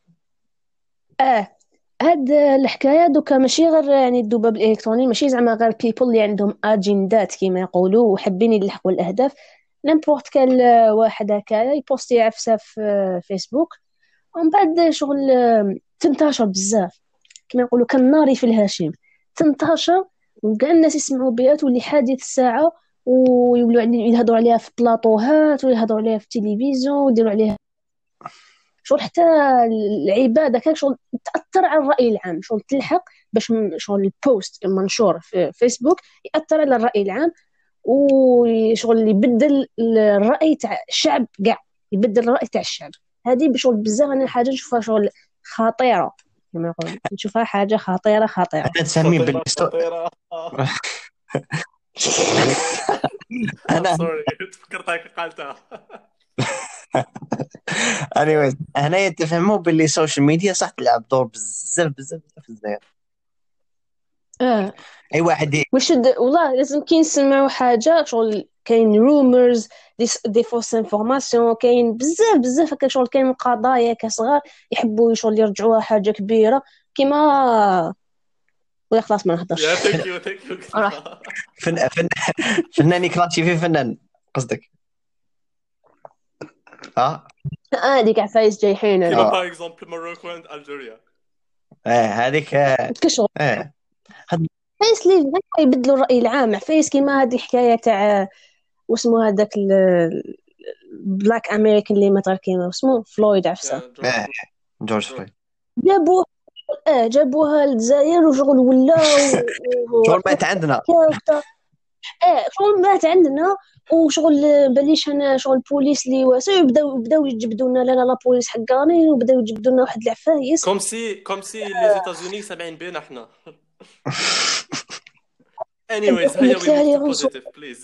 هاد الحكايه دوكا ماشي غير يعني الذباب الالكتروني، ماشي زعما غير بيبل اللي عندهم اجندات كيما يقولوا وحابين يلحقوا الاهداف. نيمبورت كان واحد هكايا يبوستي عفسه في فيسبوك ومن بعد شغل تنتشر بزاف كما يقولوا كالنار في الهشيم، تنتشر وكاع الناس يسمعوا بها تولي حادث الساعه، ويولوا يهضروا عليها في بلاطوهات ويهضروا عليها في التلفزيون ويديروا عليها شغل حتى العباد هكاك شغل تاثر على الراي العام، شغل تلحق باش شغل البوست منشور في فيسبوك ياثر على الراي العام وشغل يبدل الراي تاع الشعب، كاع يبدل الراي تاع الشعب. هذه بشغل بزاف انا حاجه نشوفها شغل خطيره كما يقولوا، نشوفها حاجه خطيره حتى تسمي خطيره. انا سوري فكرتك قالتها. anyways هنا يتفهموا باللي السوشيال ميديا صح تلعب دور بزاف في الجزائر. اي واحد والله لازم كي نسمعوا حاجه شغل كاين رومرز دي فوس انفورماسيون، كاين بزاف هكا شغل، كاين قضايا كصغار يحبوا شغل يرجعوها حاجه كبيره كيما ولا خلاص ما نهضرش. ثانك يو فنان كلاسي في فنان قصدك ديك عفايس جايحين كيما باغ اكزومبل ماروكو اند الجيريا. هذيك كشغل عفايس اللي يبدلوا الراي العام، عفايس كيما هذه الحكايه تاع واسمو هذاك بلاك امريكان اللي ما كيما واسمو فلويد عفسه جورج فلويد، جابوها للجزائر وشغل ولا شغل مات عندنا شغل مات عندنا وشغل بليش انا شغل بوليس اللي واسع بداو يجبدوا لنا لا بوليس حقاني وبداو يجبدوا لنا واحد العفايس كوم سي لي زيتازوني سامعين بينا احنا. anyways هيا وي بوزيتيف بليز.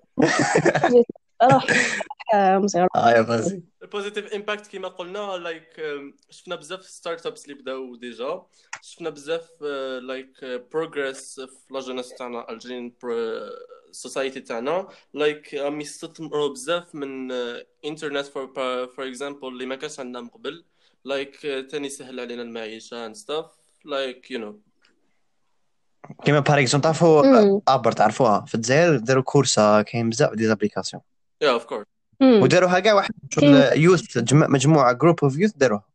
راح مصير يا بازي البوزيتيف امباكت كيما قلنا لايك شفنا بزاف ستارت ابس اللي بداو ديجا، شفنا بزاف لايك بروغريس في لاجونس تاعنا الجين سوسايتي تاعنا، لايك يستثمروا بزاف من انترنت فور اكزامبل اللي ما كانش عندنا من قبل، لايك تاني سهل علينا المعيشه and stuff like you know كيما باغ اكزومبل تعرفوا ابر تعرفوها في الجزائر داروا كورسا، كاين بزاف دي زابليكاسيون اوف كورس وداروها كاع واحد يوث مجموعه جروب اوف يوث داروها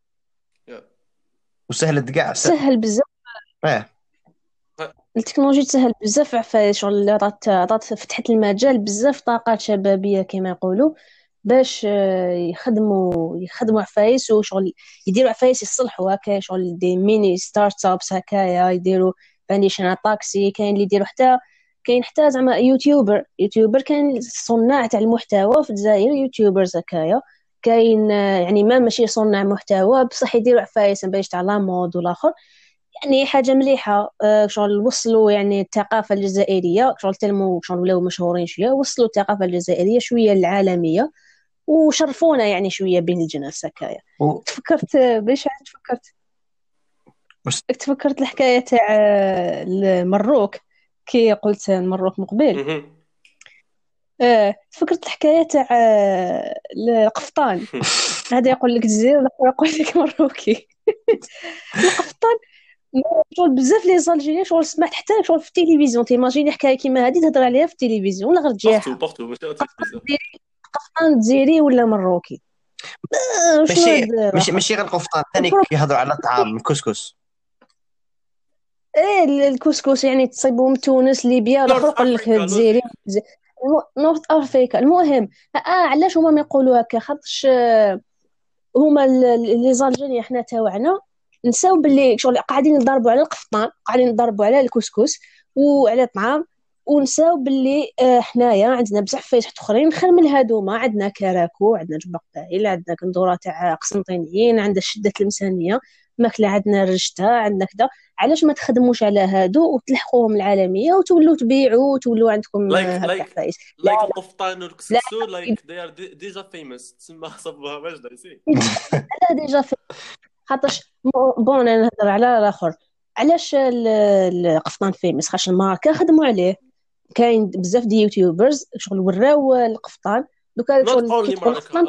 وسهلت كاع سهل بزاف. التكنولوجيا تسهل بزاف عفايس شغل عطات فتحت المجال بزاف طاقات شبابيه كما يقولوا باش يخدموا عفايس وشغل يديروا عفايس يصلحوا هكا شغل دي ميني ستارت ابس هكايا يديروا فانديشن طاكسي، كاين اللي يديروا كاين حتى زعما يوتيوبر كاين صناع تاع المحتوى في الجزائر يوتيوبرز هكايا، كاين يعني ما ماشي صناع محتوى بصح يديروا عفايس باش تاع لا مود والاخر يعني حاجة مليحة. شغل وصلوا يعني الثقافة الجزائرية، شغل تلموا، شغل ولاو مشهورين شوية، وصلوا الثقافة الجزائرية شوية للعالمية، وشرفونا يعني شوية بين الجناس هكايا. تفكرت باش تفكرت تفكرت الحكاية تاع المروك، كي قلت المروك مقبل. تفكرت الحكاية تاع القفطان. هذا يقول لك جزائري والآخر يقول لك مروكي. القفطان شغل بزاف لي زالجيريان، شغل سمعت حتى شغل في التلفزيون، تيماجيني حكايه كيما هذه تهضر عليها في التلفزيون ولا غير تجيها بارتو قفطان جزائري ولا مروكي. ماشي غير القفطان، ثاني كيهضروا على الطعام الكسكس. الكسكس يعني تصيبوا من تونس ليبيا، الاخر يقول لك الجزائري نورث افريكا. المهم علاش هما ما يقولوا هكا؟ خاطرش هما لي زالجيريان حنا تاوعنا نساو باللي شغل قاعدين نضربوا على القفطان، قاعدين نضربوا على الكسكس وعلى الطعام، ونساو باللي حنايا عندنا بزاف فايسحات اخرين خير من هادوما. عندنا كراكو، عندنا جبق باهيل، عندنا كندوره تاع قسنطينيين، عندنا شده المسانيه ماكله، عندنا رشته، عندنا كذا. علاش ما تخدموش على هادو وتلحقوهم العالميه وتولوا تبيعوا وتولوا عندكم هكا فايس؟ لا القفطان والكسكسو لايك they are ديجا فيموس، تسمى صبوها واجده سي لا ديجا خاطرش بون انا نهضر على الاخر. علاش القفطان فيمس؟ خاطر الماركه خدموا عليه، كاين بزاف دي يوتيوبرز شغل وراو القفطان دوكا شغل القفطان.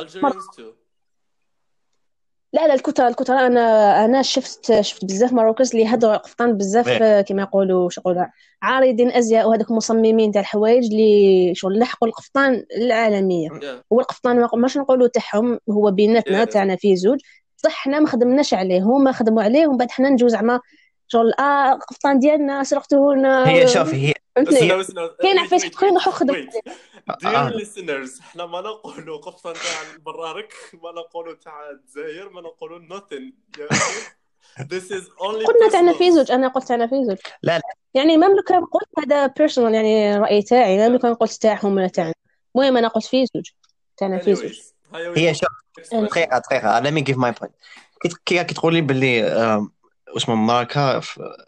لا الكتر انا شفت بزاف مراكز اللي هضروا على القفطان بزاف كما يقولوا شغل عارضين ازياء وهذوك مصممين تاع الحوايج اللي شغل لحقوا القفطان العالمية. هو القفطان ماش نقولوا تاعهم، هو بيناتنا تاعنا فيه زوج صح، حنا ما خدمناش عليه، هما خدموا عليه ومن بعد حنا نجوز زعما شغل القفطان ديالنا سرقتوه لنا. هي شوفي كاين عفايس اخرين راحوا خدموا. dear listeners، حنا ما نقولوا قفطان تاع البرارك، ما نقولوا تاع الجزائر، ما نقولوا nothing. This is only قلنا تاعنا في زوج، انا قلت تاعنا في زوج. لا يعني مملكة قلت هذا personal يعني رأي تاعي، مملكة قلت تاعهم ولا تاعنا. المهم انا قلت في زوج تاعنا في زوج. هي شوف دقيقة let me give my point. كي تقولي باللي اسمه ماركة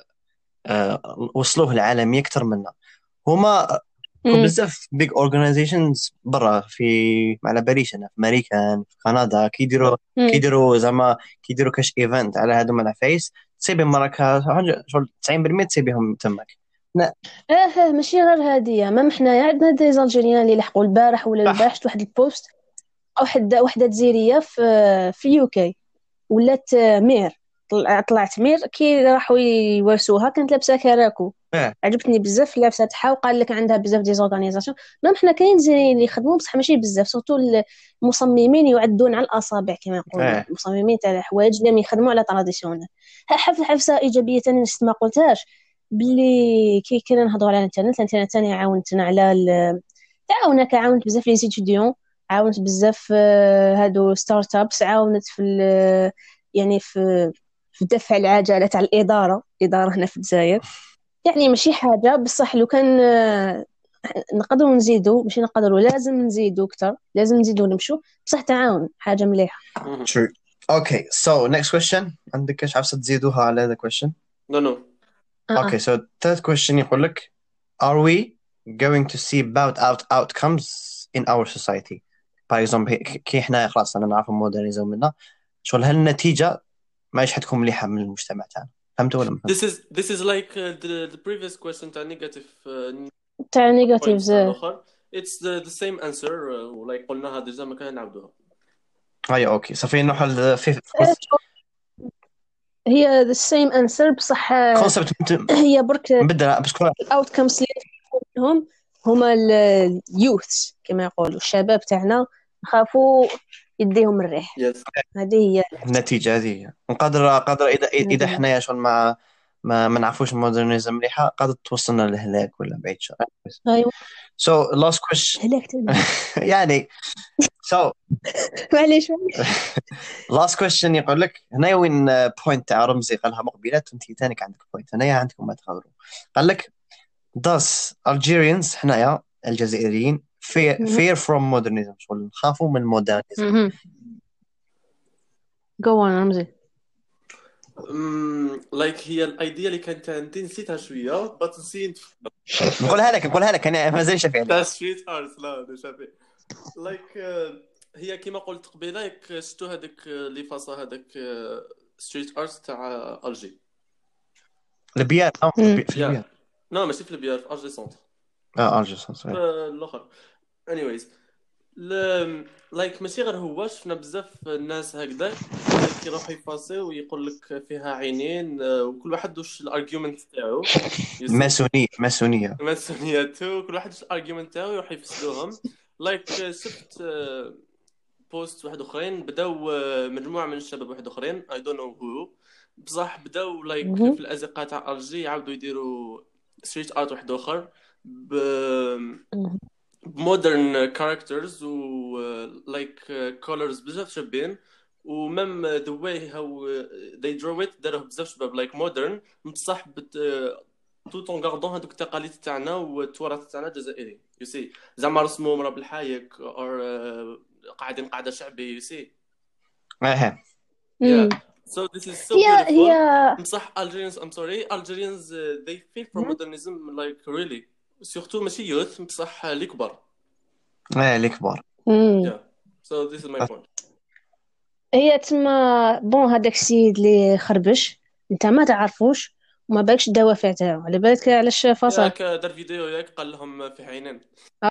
وصلوه العالمية أكثر منا، هما بزاف big organizations برا في على باليش أنا في أمريكا في كندا كيديروا زعما كيديروا كاش ايفنت على هادو من الفيس، تصيبي ماركة شغل 90% تصيبيهم تمك. ماشي غير هادية، ما حنايا عندنا دي زالجيريان اللي لحقوا البارح ولا البارح واحد البوست او وحده جزائريه في يوكي ولات مير، طلعت مير كي راحوا يورسوها كانت لابسه كراكو. عجبتني بزاف اللبسه تاعها، وقال لك عندها بزاف دي زورغانيزاسيون. ما حنا كاين زين اللي يخدموا بصح ماشي بزاف، سورتو المصممين يعدون على الاصابع كما يقولوا. المصممين تاع الحوايج اللي يخدموا على تراديسيونال. حفصه ايجابيه ثاني نسيت ما قلتهاش، باللي كي كنا نهضروا على الانترنت ثاني عاونتنا على عاونت بزاف لي ستوديون، عاونت بزاف هادو ستارت ابس، عاونت في يعني في دفع العجله تاع الاداره هنا في الجزائر. يعني ماشي حاجه بصح لو كان نقدروا نزيدوا، ماشي نقدروا لازم نزيدوا اكثر، لازم نزيدوا نمشوا بصح تعاون حاجه مليحه. True. Okay, so next question. عندك ايش عاوز تزيدوها على هذا question؟ No. Okay, so third question يقول لك are we going to see bad outcomes in our society? For example كي احنا خلاص انا نعرف المودرنيزم منا شغل هل النتيجه ما حتكون مليحه من المجتمع تاعنا؟ فهمتوا ولا ما فهمتوا؟ This is like the previous question تاع negatives. It's the same answer like قلناها ديجا ما كان نعاودوها. اوكي صافي نروح هي the same answer بصح هي برك نبدل باسكو الاوتكمز اللي منهم هما اليوث كما يقولوا الشباب تاعنا نخافوا يديهم الريح. هذه هي النتيجه. هذه نقدر اذا حنايا شغل ما نعرفوش المودرنيزم مليحه قادر توصلنا للهلاك ولا بعيد شويه. ايوه so last question يعني so معليش last question يقول لك هنا وين بوينت تاع رمزي قالها مقبلات وانت ثاني عندك بوينت هنايا عندكم ما تغادروا. قال لك does Algerians حنايا الجزائريين fear from modernism شغل نخافوا من المودرنيزم. go on رمزي. لايك هي الايديا اللي كانت عندي نسيتها شويه بس نسيت نقولها لك انا مازال شافي عليها. تاع ستريت ارت لا شافي لايك هي كما قلت قبيله ياك شفتوا هذاك لي فاصا هذاك ستريت ارت تاع الجي البيار في البيار نو ماشي في البيار في الجي سونتر الجي سونتر الاخر anyways لايك ماشي غير هو شفنا بزاف الناس هكذا كيروحوا يفاصيو ويقول لك فيها عينين وكل واحد واش الارغيومنت تاعو ماسونيه تو كل واحد واش الارغيومنت تاعو يروح يفسدوهم لايك شفت بوست واحد اخرين بداو مجموعه من الشباب واحد اخرين اي دون نو هو بصح بداو لايك في الازقه تاع الجي يعاودوا يديروا ستريت ارت واحد اخر مودرن كاركترز و لايك كولرز بزاف شابين ومام ذا واي هاو they draw it داروه بزاف شباب لايك مودرن بصح توت اون غاردون هذوك التقاليد تاعنا والتراث تاعنا الجزائري يو سي زعما رسموا مرا بالحايك او قاعدين قاعده شعبي يو سي so this is so beautiful بصح Algerians I'm sorry Algerians they feel for modernism like really سورتو ماشي يوث بصح اللي كبار اللي كبار so this is my point هي تما بون هذاك السيد اللي خربش انت ما تعرفوش وما بالكش الدوافع تاعو على بالك علاش فصل ياك دار فيديو ياك قال لهم في عينين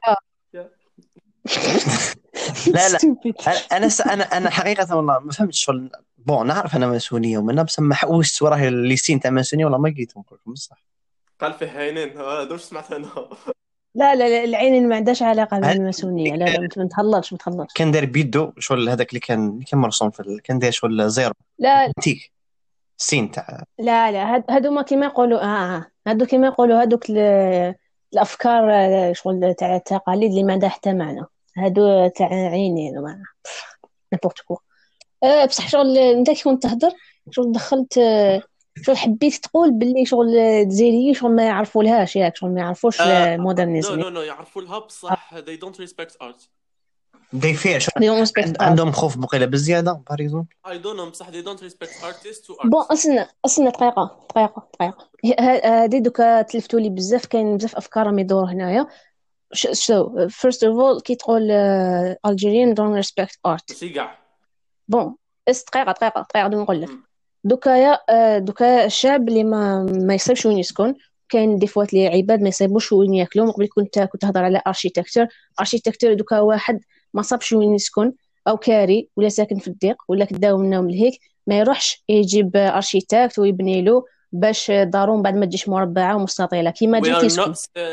لا انا حقيقه والله ما فهمتش شغل بون نعرف انا ماسونيه ومنها بس ما حوست وراه اللي سين تاع ماسونيه والله ما لقيتهم كلهم بصح قال في عينين هذا واش سمعت انا لا العين ما عندهاش علاقه بالماسونيه لا ما تهلطش كان داير بيدو شغل هذاك اللي كان مرسوم في كان داير شغل زيرو لا تيك سين تاع لا هادو ما كيما يقولوا هادو كيما يقولوا هادوك الافكار شغل تاع التقاليد اللي ما عندها حتى معنى هادو تاع عينين ما نابورت كو بصح شغل انت كي كنت تهضر شغل دخلت شغل حبيت تقول باللي شغل الجزائريين شغل ما يعرفولهاش ياك شغل ما يعرفوش المودرنيزم نو يعرفوا لها بصح they don't respect art they fear عندهم خوف بقيله بزياده باغ اكزومبل I don't know بصح they don't respect artists to art بون اصلا دقيقه هادي دوكا تلفتوا لي بزاف كاين بزاف افكار راهم يدوروا هنايا so first of all كي تقول Algerian don't respect art ماشي كاع بون دقيقه نقول لك دوكا الشعب اللي ما يصيبش وين يسكن كاين ديفوات لي عباد ما يصيبوش وين ياكلوا قبل كنت تهضر على اركيتكتور دوكا واحد ما صابش وين يسكن او كاري ولا ساكن في الضيق ولا كداو منهم لهيك ما يروحش يجيب اركيتكت ويبني له باش دارهم بعد ما تجيش مربعه ومستطيله كيما جيت يسكن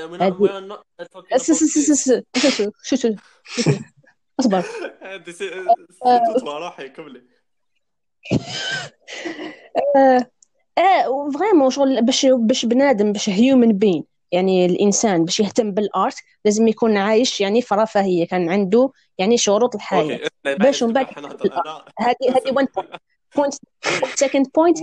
شو اصبر روحي كملي فريمون شغل باش بنادم باش هيومن بين يعني الانسان باش يهتم بالارت لازم يكون عايش يعني في رفاهيه كان عنده يعني شروط الحياه باش من بعد هذه 1 بوينت سكند بوينت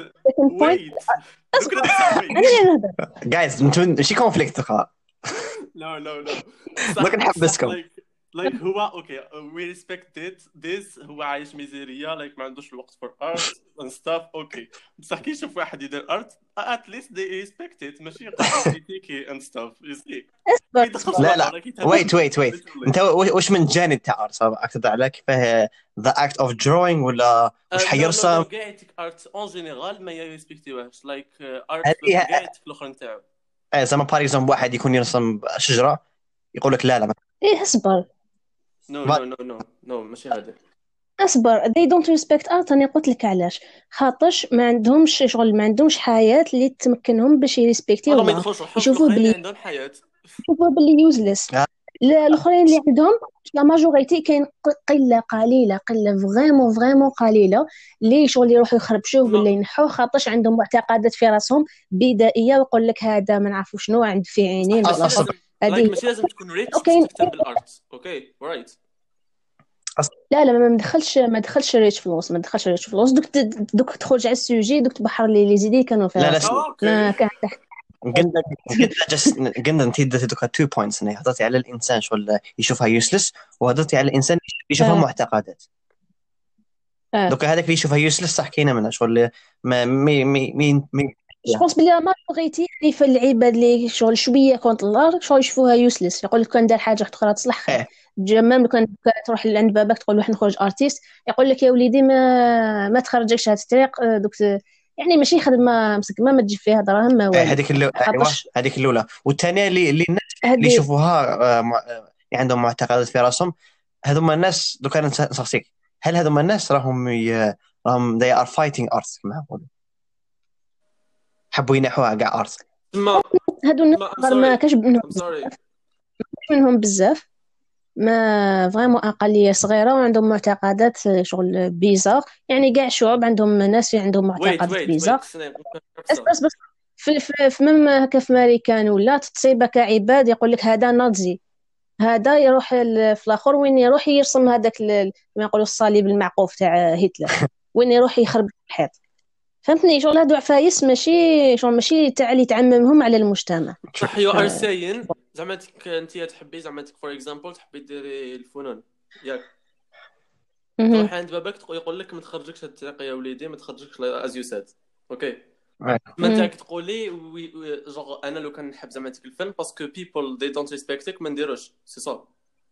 انا نهضر جايز ماشي كونفليكت لا ما كنحبسكم like هو اوكي we respect this هو عايش ميزيريا like ما عندوش الوقت for art and stuff اوكي بصح كي يشوف واحد يدير art at least they respect it ماشي يقول and stuff you see لا wait انت واش من جانب تاع art اكثر على كيفاه the act of drawing ولا واش حيرسم قاعدتك art en general ما يريسبكتيوهاش like art قاعدتك الاخر نتاعو زعما باغ اكزومبل واحد يكون يرسم شجره يقول لك لا اصبر نو ماشي هذا اصبر they don't respect art انا قلت لك علاش خاطرش ما عندهمش شغل ما عندهمش حياه اللي تمكنهم باش يريسبكتيو يشوفوا بلي عندهم حياه يشوفوا بلي يوزلس الاخرين اللي عندهم لا ماجوريتي كاين قله فريمون قليله اللي شغل يروحوا يخربشوه ولا ينحوه خاطرش عندهم معتقدات في راسهم بدائيه ويقول لك هذا ما نعرفوش شنو عنده في عينين هذه ماشي لازم تكون ريتش تكتب بالارت اوكي رايت لا ما دخلش ريتش فلوس دوك تخرج على السوجي دوك تبحر لي زيدي كانوا فيها ما كان قلنا انت ديتي دوكا 2 بوينتس هنا هضرتي على الانسان شغل يشوفها يوسلس وهضرتي على الانسان يشوفها معتقدات دوك هذاك اللي يشوفها يوسلس صح كاينه منها شغل ما مي مي مي, مي جو بونس بلي ما بغيتي يعني في العباد اللي شغل شويه كونت الله شغل يشوفوها يوسلس يقول لك كان دار حاجه اخرى تصلح خير مام لو كان تروح لعند باباك تقول واحد نخرج ارتيست يقول لك يا وليدي ما تخرجكش هاد الطريق دوك يعني ماشي خدمه مسكمه ما تجيب فيها دراهم ما والو هذيك ايوا هذيك الاولى والثانيه اللي الناس اللي يشوفوها عندهم معتقدات في راسهم هذوما الناس دوك انا نسقسيك هل هذوما الناس راهم they are fighting art كما نقولوا حبوا ينحوها كاع ارت هادو الناس ما كاش منهم بزاف ما فريمون اقليه صغيره وعندهم معتقدات شغل بيزار يعني كاع شعوب عندهم ناس عندهم معتقدات بيزار بس في مم هكا في امريكان ولا تصيبك كعباد يقول لك هذا نازي هذا يروح في الاخر وين يروح يرسم هذاك كما يقولوا الصليب المعقوف تاع هتلر وين يروح يخرب الحيط فهمتني شغل هادو عفايس ماشي تاع اللي تعممهم على المجتمع صح يو ار ساين زعما انت تحبي زعما فور اكزامبل تحبي ديري الفنون ياك تروح عند باباك يقول لك ما تخرجكش هاد الطريق يا وليدي ما تخرجكش از يو سيد اوكي ما انت تقولي جوغ انا لو كان نحب زعما ديك الفن باسكو بيبل دي دونت ريسبكتك ما نديروش سي صا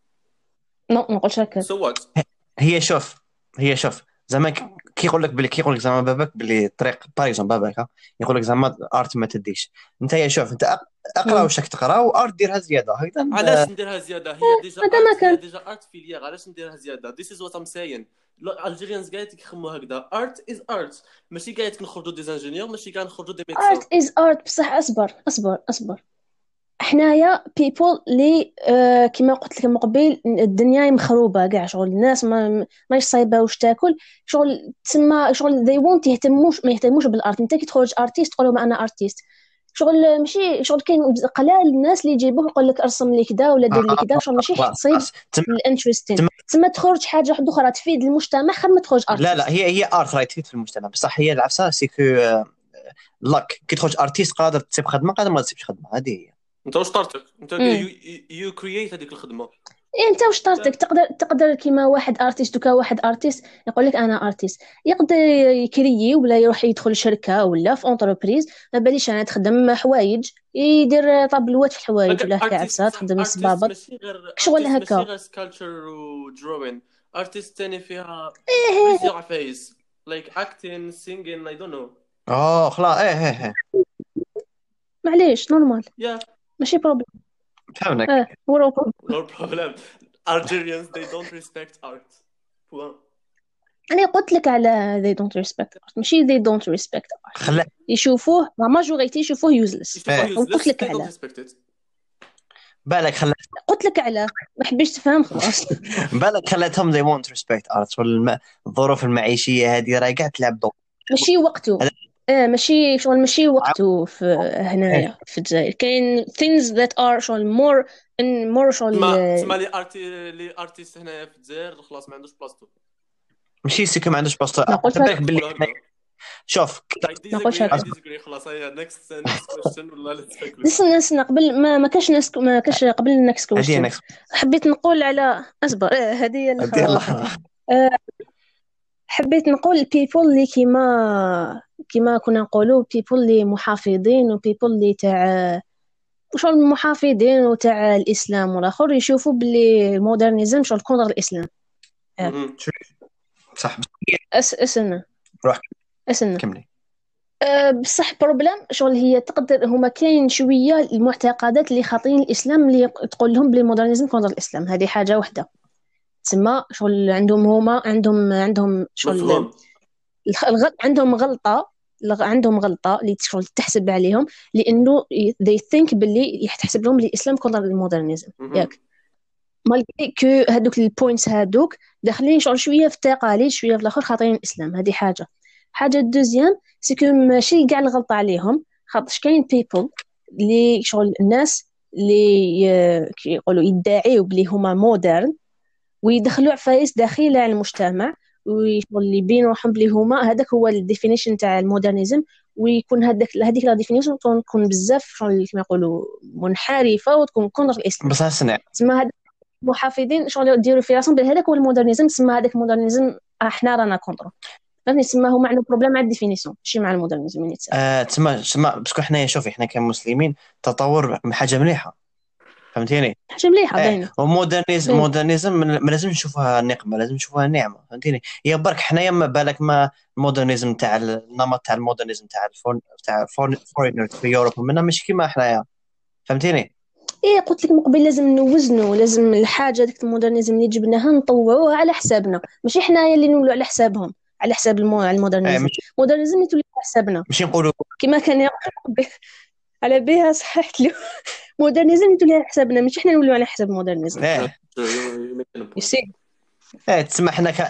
نو ما نقولش هكا سو وات هي شوف زعما كيقول لك زعما باباك بلي الطريق باريزون باباك يقول لك زعما ارت ما تديش انت يا شوف انت اقرا واش راك تقرا وارت ديرها زياده هكذا علاش نديرها زياده هي ديجا ارت فيليير علاش نديرها زياده this is what I'm saying الجيريانز كاع كيخموا هكذا ارت از ارت ماشي كاع نخرجوا دي انجينيور ماشي كاع نخرجوا دي ميدسان ارت از ارت بصح اصبر حنايا بيبل لي كما قلت لك من قبل الدنيا مخروبه كاع شغل الناس ماش صايبه واش تاكل شغل تما شغل they won't ما يهتموش بالارت انت كي تخرج ارتيست تقول لهم انا ارتيست شغل ماشي شغل كاين قلال الناس اللي يجيبوه يقول لك ارسم لي كذا ولا دير لي كذا شغل ماشي تصيب الانتريستين تما تخرج حاجه واحده اخرى تفيد المجتمع خير ما تخرج ارتيست لا هي ارت راهي تفيد في المجتمع بصح هي العفسه سيكو لاك كي تخرج ارتيست قادر تسيب خدمه قادر ما تسيبش خدمه هذه هي انت واش طارتك انت يو كرييت هذيك الخدمه انت واش طارتك تقدر كيما واحد ارتيست دوكا واحد ارتيست يقول لك انا ارتيست يقدر يكريي ولا يروح يدخل شركه ولا في اونتربريز ما باليش انا تخدم حوايج يدير طابلوات في الحوايج ولا هكا عفسه تخدم الصبابط شغل هكا ماشي غير سكالتشر ودروين ارتيست ثاني فيها بزاف عفايس لايك اكتين سينجين اي دونت نو خلاص معليش نورمال ماشي بروبليم فهمناك no problem Algerians they don't respect art أنا قلت لك على they don't respect art ماشي they don't respect art يشوفوه ماجوريتي يشوفوه useless قلت لك على بالك قلت لك على ما حبيتش تفهم خلاص بالك خلاتهم they won't respect art الظروف المعيشية هذه راهي قاعد تلعب دور ماشي وقته ماشي شغل ماشي وقته في هنايا في الجزائر كاين things that are شغل more شغل تسمى لي ارتيست هنايا في الجزائر خلاص ما عندوش بلاصتو ماشي سيكو ما عندوش بلاصتو بالك باللي شوف خلاص هي next question ولا نسن قبل ما كاش قبل النكست question حبيت نقول على اصبر هذه حبيت نقول people اللي كما كنا نقولوا people اللي محافظين و people اللي تاع شغل المحافظين وتاع الاسلام والاخر يشوفوا باللي المودرنيزم شغل كونتر الاسلام صح اسنا كملي بصح بروبليم شغل هي تقدر هما كاين شويه المعتقدات اللي خاطين الاسلام اللي تقول لهم بلي المودرنيزم كونتر الاسلام هذه حاجه واحده تسمى شغل عندهم شغل عندهم غلطه اللي شغل تحسب عليهم لانه they think باللي يحتسب لهم الاسلام كونتر المودرنيزم ياك مالغري كو هذوك البوينتس هذوك داخلين شغل شويه في التقاليد شويه في الاخر خاطرين الاسلام هذه حاجه الدوزيام سيكو ماشي كاع الغلطه عليهم خاطرش كاين بيبل اللي شغل الناس اللي يقولوا يدعيوا بلي هما مودرن ويدخلوا عفايس داخله على المجتمع ويقول يبين روحهم بلي هما هذاك هو الديفينيشن تاع المودرنيزم ويكون هذيك لا ديفينيشن تكون بزاف كما يقولوا منحرفه وتكون كونتر الاسلام بصح سنع تسمى هذا محافظين شغل يديروا في راسهم بهذاك هو المودرنيزم تسمى هذاك المودرنيزم احنا رانا كونتر. فهمتني؟ تسمى هو معنى بروبليم مع الديفينيسيون ماشي مع المودرنيزم اللي تسمى. تسمى باسكو حنايا شوفي حنا كمسلمين تطور حاجه مليحه، فهمتيني؟ حاجه مليحه باينه. ومودرنيزم ما لازم نشوفها نقمه، لازم نشوفها نعمه، فهمتيني؟ هي برك حنايا ما بالك ما المودرنيزم تاع النمط تاع المودرنيزم تاع فورينرز في اوروبا منا مش كيما حنايا، فهمتيني؟ ايه قلت لك من قبل لازم نوزنوا، لازم الحاجه ديك المودرنيزم اللي جبناها نطوعوها على حسابنا، ماشي حنايا اللي نولوا على حسابهم، على حساب المودرنيزم. المودرنيزم يتولي على حسابنا ماشي نقولوا كما كان يقول على بها صححت له. مودرنيزم يتولي على حسابنا ماشي حنا نولوا على حساب المودرنيزم. يسي تسمى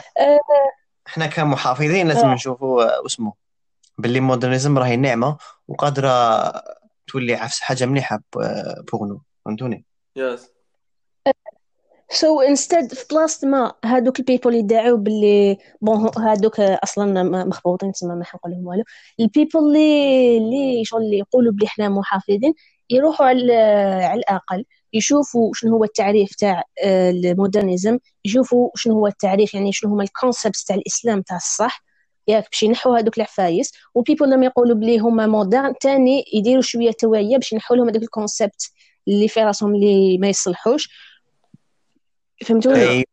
حنا كمحافظين لازم نشوفوا واسمه باللي مودرنيزم راهي نعمه وقادره تولي حاجه مليحه بوغنو، فهمتوني؟ يس سو انستد في بلاصه ما هادوك البيبول يدعوا باللي بون هادوك اصلا مخبوطين تما ما حنقول لهم والو. البيبول اللي شغل اللي يقولوا بلي حنا محافظين يروحوا على الاقل يشوفوا شنو هو التعريف تاع المودرنيزم، يشوفوا شنو هو التعريف يعني شنو هما الكونسبتس تاع الاسلام تاع الصح ياك باش ينحوا هذوك العفايس. وبيبول لما يقولوا بلي هما مودرن تاني يديروا شويه توعيه باش ينحوا لهم هذوك الكونسبت اللي في راسهم اللي ما يصلحوش، فهمتوني؟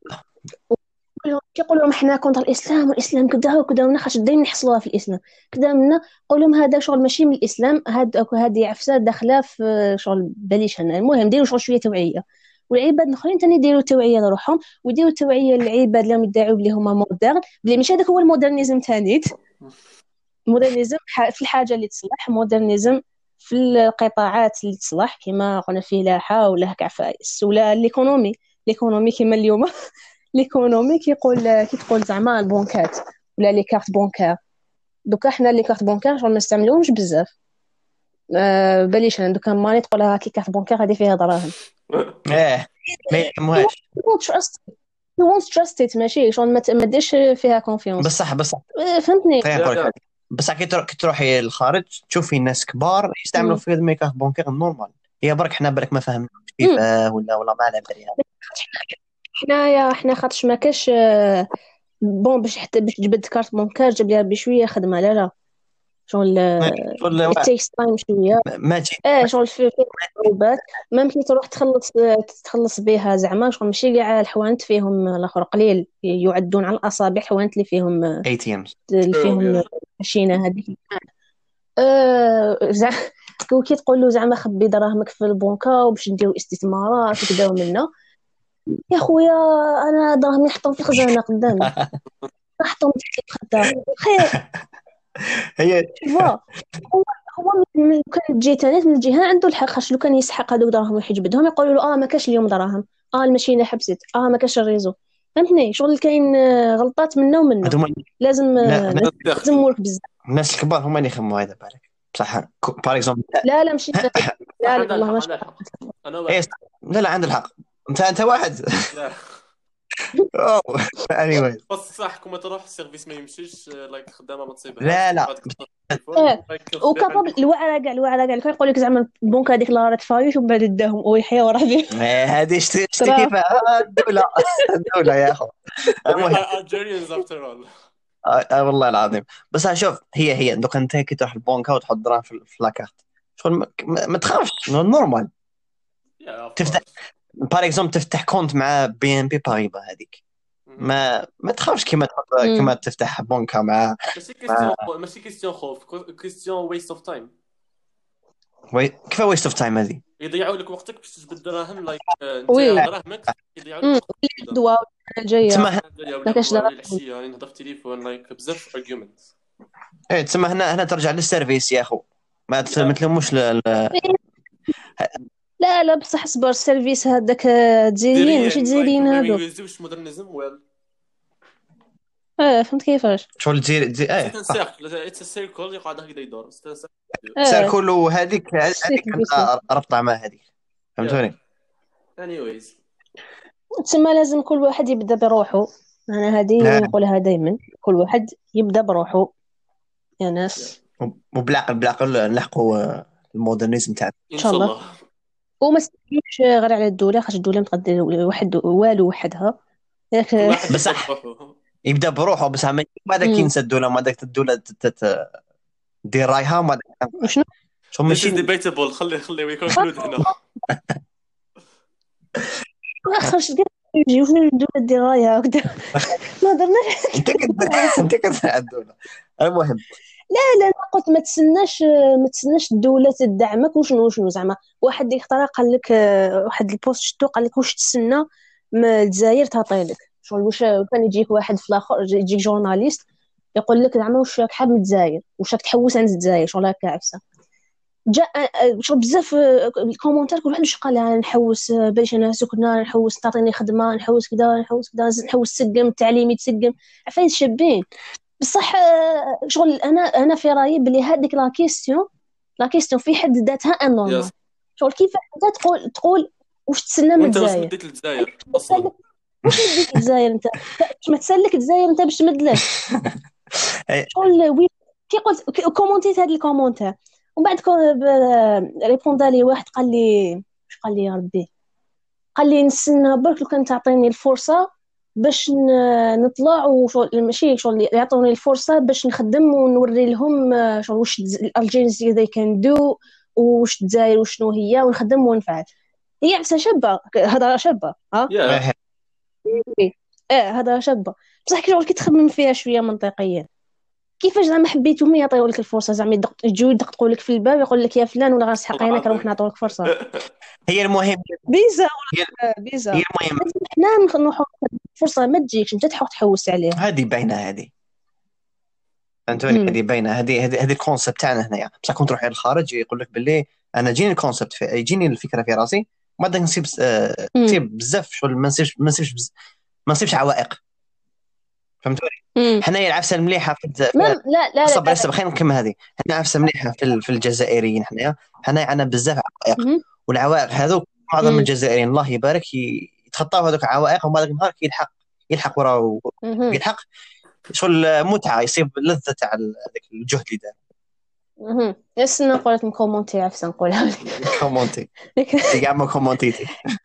كيقولوا لهم احنا كونتر الاسلام والاسلام كذا وكذا ونخش دايما نحصلوها في الاسلام كذا منا، قول لهم هذا شغل ماشي من الاسلام، هذه عفسه داخله في شغل بليش. المهم ديروا شغل شويه توعيه، والعباد الاخرين ثاني يديروا توعيه لروحهم ويديروا توعيه للعباد اللي يدعوا بلي هما مودرن، بلي ماشي هذاك هو المودرنيزم ثاني. المودرنيزم في الحاجه اللي تصلح، مودرنيزم في القطاعات اللي تصلح كما قلنا فلاحه ولا هكا عفايس ولا الايكونومي كما اليوم ليكونومي كي تقول زعما البنكات ولا لي كارت بونكار. دوكا حنا لي كارت بونكار شغل ما نستعملوهمش بزاف. بليش انا دوكا ماني تقول لها كي كارت بونكار هذه فيها دراهم ما يهمهاش you won't trust it ماشي شغل ما ديرش فيها كونفيونس. بصح فهمتني؟ بصح كي تروحي للخارج تشوفي ناس كبار يستعملوا في مي كارت بونكار نورمال. هي برك حنا برك ما فهمناش كيفاه ولا ما على بالي. حنا خاطش ما كاش بون باش تجبد كارت بونكار جاب ليها بشويه خدمه. لا شغل تيكس تايم شويه ماشي شغل في صعوبات ما ممكن تروح تخلص بها زعما شغل ماشي كاع الحوانت فيهم الاخر قليل يعدون على الاصابع الحوانت اللي فيهم ATMs اللي فيهم ماشينه هذيك زعما كي تقول له زعما خبي دراهمك في البنكه وباش نديروا استثمارات وكذا ومنا. يا خويا انا دراهمي نحطهم في الخزانه قدامي نحطهم في الخزانه خير. هي هو من كان تجي تاني من الجهه عنده الحق، خاطر لو كان يسحق هذوك دراهم ويحجبدهم يقولوا له ما كاش اليوم دراهم، الماشينه حبست، ما كاش الريزو. فهمتني؟ شغل كاين غلطات منا ومنا لازم مورك بزاف. الناس الكبار هما اللي يخموا هذا بالك بصح بار اكزومبل. لا ماشي لا والله ماشي لا عند الحق انت واحد anyway بس صح كما تروح السيرفيس ما يمشيش لايك خدامه ما تصيبها. لا وكابل الوعره كاع يقول لك زعما البنك هذيك لا راه فايش ومن بعد داهم ويحيى وراه هذه شتي كيف الدوله يا اخو. Algerians after all. والله العظيم. بس شوف هي دوك انت كي تروح البنك وتحط دراهم في لاكارت شغل ما تخافش نورمال. تفتح بار اكزومبل تفتح كونت مع BNP باريبا هذيك ما تخافش كما تفتح بنكه مع ماشي كيستيون خوف، كيستيون ويست اوف تايم. كيف ويست اوف تايم هذه؟ يضيعوا لك وقتك باش تجبد دراهم لايك انت دراهمك يضيعوا لك الدواء الجايه ما كاش دراهم العشيه يعني نهضر في التليفون لايك بزاف ارجيومنت. تسمى هنا ترجع للسيرفيس يا اخو ما تلموش لا بصح اصبر السيرفيس هذاك تزيرين ماشي تزيرين هادو ما يوزوش مودرنيزم ويل. فهمت كيفاش شغل تزير اتس سيركل يقعد هكذا يدور سيركل وهذيك ربطه مع هذيك فهمتوني. anyways تسمى لازم كل واحد يبدا بروحه. انا هذه نقولها دائما كل واحد يبدا بروحه يا ناس وبالعقل نلحقوا المودرنيزم تاعنا ان شاء الله. وما تستعملوش غير على الدوله، خاطر الدوله متقدر واحد والو وحدها بصح يبدا بروحه بس ما داك ينسى الدوله، ما داك الدوله دير رايها ما داك وشنو شو This ماشي is debatable. خلي we conclude هنا. خرجت كاع يجي وشنو الدوله دير رايها هكذا ما درناش. انت كتسمع الدوله. المهم لا انا قلت ما تسناش الدوله تدعمك وشنو زعما واحد ديك الطريقه قال لك واحد البوست شتو قال لك واش تسنى ما الجزائر تعطيلك شغل واش كان يجيك واحد في الاخر يجيك جورناليست يقول لك زعما واش راك حاب من الجزائر واش راك تحوس عن الجزائر شغل هكا عفسه جاء شغل بزاف الكومونتير كل واحد واش قال انا نحوس باش انا سكنه نحوس تعطيني خدمه نحوس كذا نحوس تسقم التعليمي تسقم عفايس شابين بصح شغل انا في رايي بلي هذيك لا كيستيون في حد ذاتها انورمال Yes. شغل كيف انت تقول واش تسنى من وانت واش الجزائر مديت للجزائر اصلا؟ واش مديت للجزائر انت باش ما تسلك الجزائر انت باش تمدلك شغل وي كي قلت كومونتيت هذا الكومونتير ومن بعد ريبوندا لي واحد قال لي واش قال لي يا ربي قال لي نستنى برك لو كان تعطيني الفرصه باش نطلع وشغل ماشي شغل يعطوني الفرصه باش نخدم ونوري لهم شغل واش الجينز they can do واش الجزائر وشنو هي ونخدم ونفعل هي عفسه شابه هضره شابه Yeah. هضره شابه بصح شغل كي تخمم فيها شويه منطقيا كيفاش زعما حبيتهم يعطيو لك الفرصه زعما يجيو يدقوا لك في الباب يقول لك يا فلان ولا غنسحق عينك نروح نعطيوك فرصه هي المهم بيزا هي المهم حنا نروحوا فرصه ما تجيكش انت تحوس عليها هذه باينه هذه فهمتوني هذه باينه هذه الكونسيبت تاعنا هنايا بصح كنت تروح للخارج يقول لك باللي انا جيني الكونسيبت يجيني الفكره في راسي ما بدك نسيب بزاف شغل ما نسيبش عوائق فهمتوني حنايا العفسه المليحه في لا صبر خلينا نكمل هذه حنا عفسه مليحه في الجزائريين حنايا عندنا بزاف عوائق والعوائق هذوك معظم الجزائريين الله يبارك يتخطاو هذوك العوائق وما ذاك النهار يلحق وراه يلحق شغل متعه يصيب لذه تاع هذاك الجهد اللي دار يس نقول لك كومونتي عفسه نقولها لك كومونتي كاع ما كومونتيتي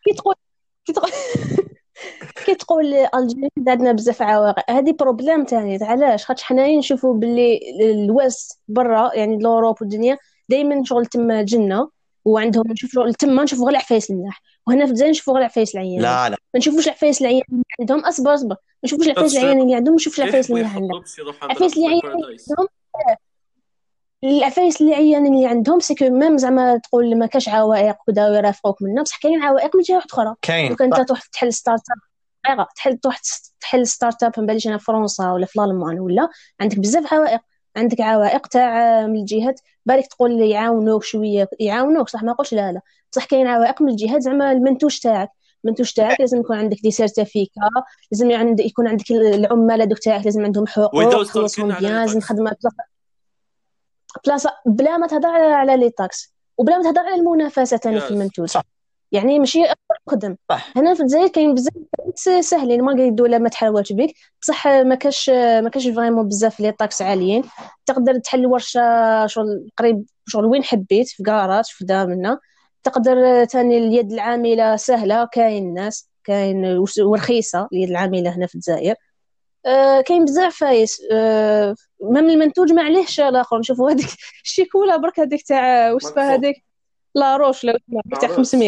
كي تقول الجزائر عندنا بزاف عوائق هذه بروبليم ثاني علاش خاطر حنايا نشوفوا باللي الويست برا يعني لوروب والدنيا دائما شغل تما جنه وعندهم نشوفوا تما نشوفوا غير العفايس الملاح وهنا في الجزائر نشوفوا غير العفايس العيان لا ما نشوفوش العفايس العيان اللي عندهم اصبر ما نشوفوش العفايس العيان اللي عندهم نشوفوا العفايس اللي عندهم العفايس اللي عندهم العفايس اللي عندهم سكو ميم زعما تقول ما كاش عوائق وكذا ويرافقوك منها بصح كاين عوائق من جهه اخرى كاين انت تروح تحل ستارت اب تحل ستارت اب من باليش انا في فرنسا ولا في الالمان ولا عندك بزاف عوائق عندك عوائق تاع من الجهات بالك تقول لي يعاونوك شويه يعاونوك صح ما نقولش لا بصح كاين عوائق من الجهات زعما المنتوج تاعك لازم يكون عندك دي سيرتيفيكا لازم يكون عندك العمال هذوك تاعك لازم عندهم حقوق خلصهم بيان لازم خدمه بلاصه بلا ما تهضر على لي تاكس وبلا ما تهضر على المنافسه ثاني في المنتوج صح. يعني ماشي خدم هنا في الجزائر كاين بزاف ساهلين ما قايل الدوله ما تحاولش بك بصح ما كاش فريمون بزاف لي طاكس عاليين تقدر تحل ورشه شغل قريب شغل وين حبيت في كراج في دارنا تقدر ثاني اليد العامله سهله كاين ناس كاين ورخيصه اليد العامله هنا في الجزائر كاين بزاف فايس مام المنتوج ما عليهش الاخر نشوفوا هذيك الشيكولا برك هذيك تاع وصفه هذيك لا روش لا تاع 500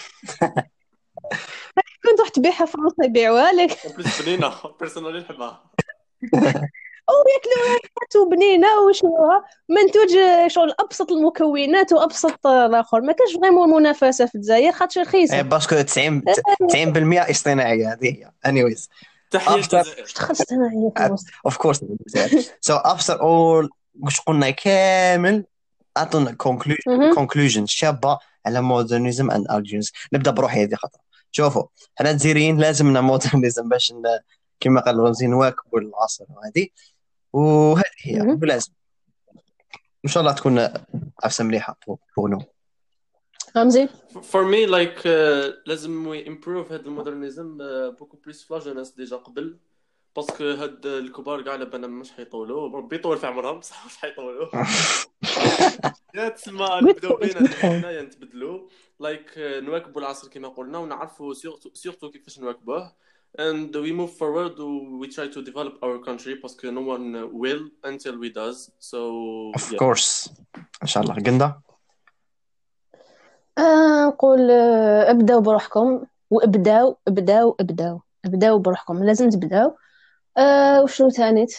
كنت رحت تبيعها في فرنسا يبيعوها لك بليس بنينه بيرسونالي نحبها او ياكلوها بنينه وشنوها منتوج شغل ابسط المكونات وابسط الاخر ما كاش فريمون منافسه في الجزائر خاطر رخيصه باسكو 90% اصطناعيه هذه هي انيويز تحيه الجزائر تخصت انا اوف كورس سو افتر اول واش قلنا كامل اعطونا كونكلوجن شابه على مودرنيزم اند ارجينز نبدا بروحي هذه خطره شوفوا حنا الجزائريين لازمنا مودرنيزم باش كما قال رمزي نواكبوا العصر هذه وهذه هي لازم ان شاء الله تكون عفسه مليحه بونو رمزي for me like لازم we improve هذا المودرنيزم beaucoup plus في لاجونس ديجا قبل باسكو هاد الكبار كاع لبنا مش حيطولوا ربي يطول في عمرهم بصح مش حيطولوا يا تسمى نبداو بينا حنايا نتبدلوا لايك نواكبوا العصر كما قلنا ونعرفوا سورتو كيفاش نواكبوه and we move forward. We try to develop our country because no one will until we does. So of course إن شاء الله. قندا نقول ابداو بروحكم ابداو بروحكم، لازم تبداو. وشنو ثانيت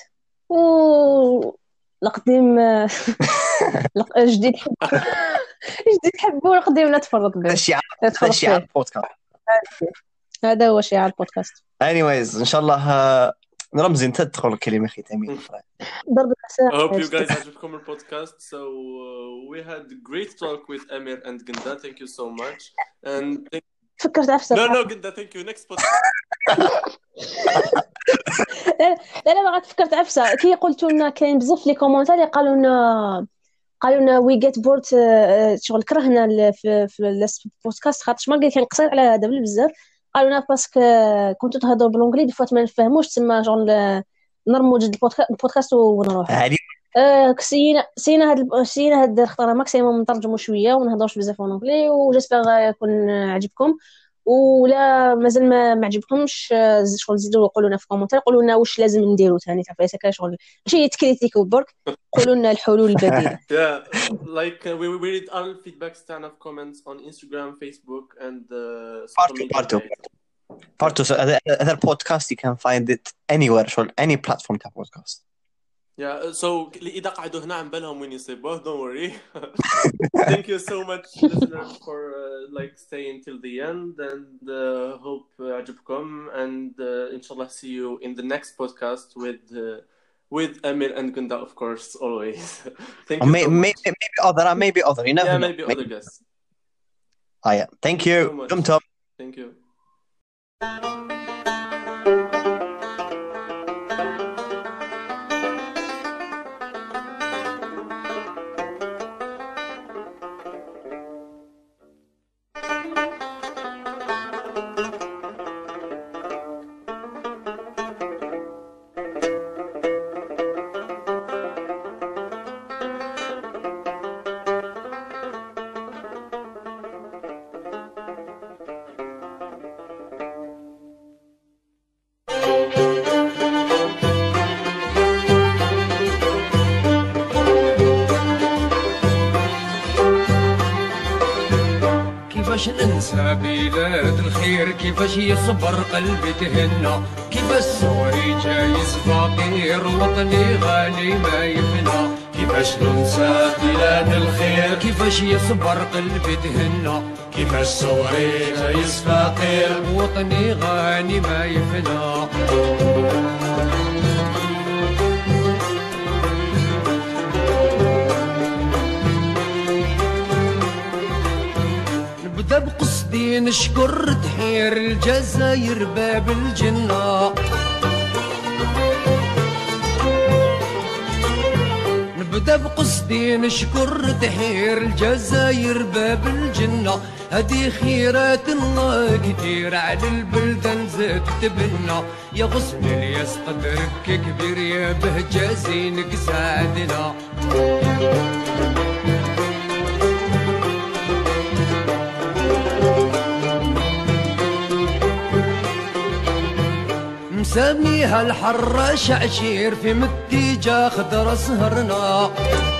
القديم جديد حبوا القديم لا تفرط به. شيعة البودكاست هذا هو شيعة البودكاست. anyways إن شاء الله رمزي أنت تدخل كلمة ختامية. ضرب I hope you guys عجبكم البودكاست. So we had great talk with Amir and Gunda. Thank you so much. And فكرت عفسة. No Gunda, thank you. Next podcast. لا ما فكرت عفسة. كي قلتوا لنا كاين بزاف لي كومونتاري قالوا لنا وي جيت بورد، شغل كرهنا في البودكاست خاطر ما قال كان قصير على هذا بزاف. قالوا لنا باسكو كنتوا تهضروا بالانجليزي دفوات ما نفهموش، تسمى شغل نرموا جد البودكاست ونروح. سينا هاد الخطره ماكسيموم نترجموا شويه ونهضروش بزاف بالانجليزي، وجيسبر يكون عجبكم. ولا مازال ما عجبكمش شغل زيدوا قولوا لنا في كومونتير، قولوا لنا واش لازم نديروا ثاني تعرفوا هكا شغل ماشي تكريتيكو برك، قولوا لنا الحلول البديله. Yeah, like we read all feedbacks تاعنا في comments on Instagram, Facebook and Parto. So other podcast you can find it anywhere, شغل any platform تاع podcast. Yeah, so إذا قعدوا هنا عم بالهم وين يصيبوه, don't worry. Thank you so much listeners for like staying till the end, and hope عجبكم, and inshallah see you in the next podcast with Amir and Gunda, of course, always. Thank you so much. Maybe other, you know. Yeah, maybe other guests. Yeah. Thank you. Thank you. كيفاش ننسى بلاد الخير، كيفاش يصبر قلبي تهنى، كيفاش صوري جايز فقير وطني غالي ما يفنى. كيفاش ننسى بلاد الخير، كيفاش يصبر قلبي تهنى، كيفاش صوري جايز فقير وطني غالي ما يفنى. نبدا بقصدي نشكر تحير الجزائر باب الجنة، نبدا بقصدي نشكر تحير الجزائر باب الجنة. هدي خيرات الله كتير على البلدان زاد تبنى، يا غصن الياس قدرك كبير يا بهجة زينك سعدنا. مسميها الحراش عشير في متيجة خضرة سهرنا،